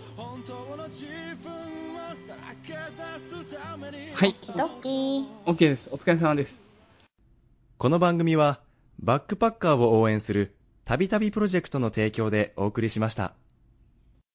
はい。 ドッキー。 OK です。お疲れ様です。 この番組は、バックパッカーを応援する、たびたびプロジェクトの提供でお送りしました。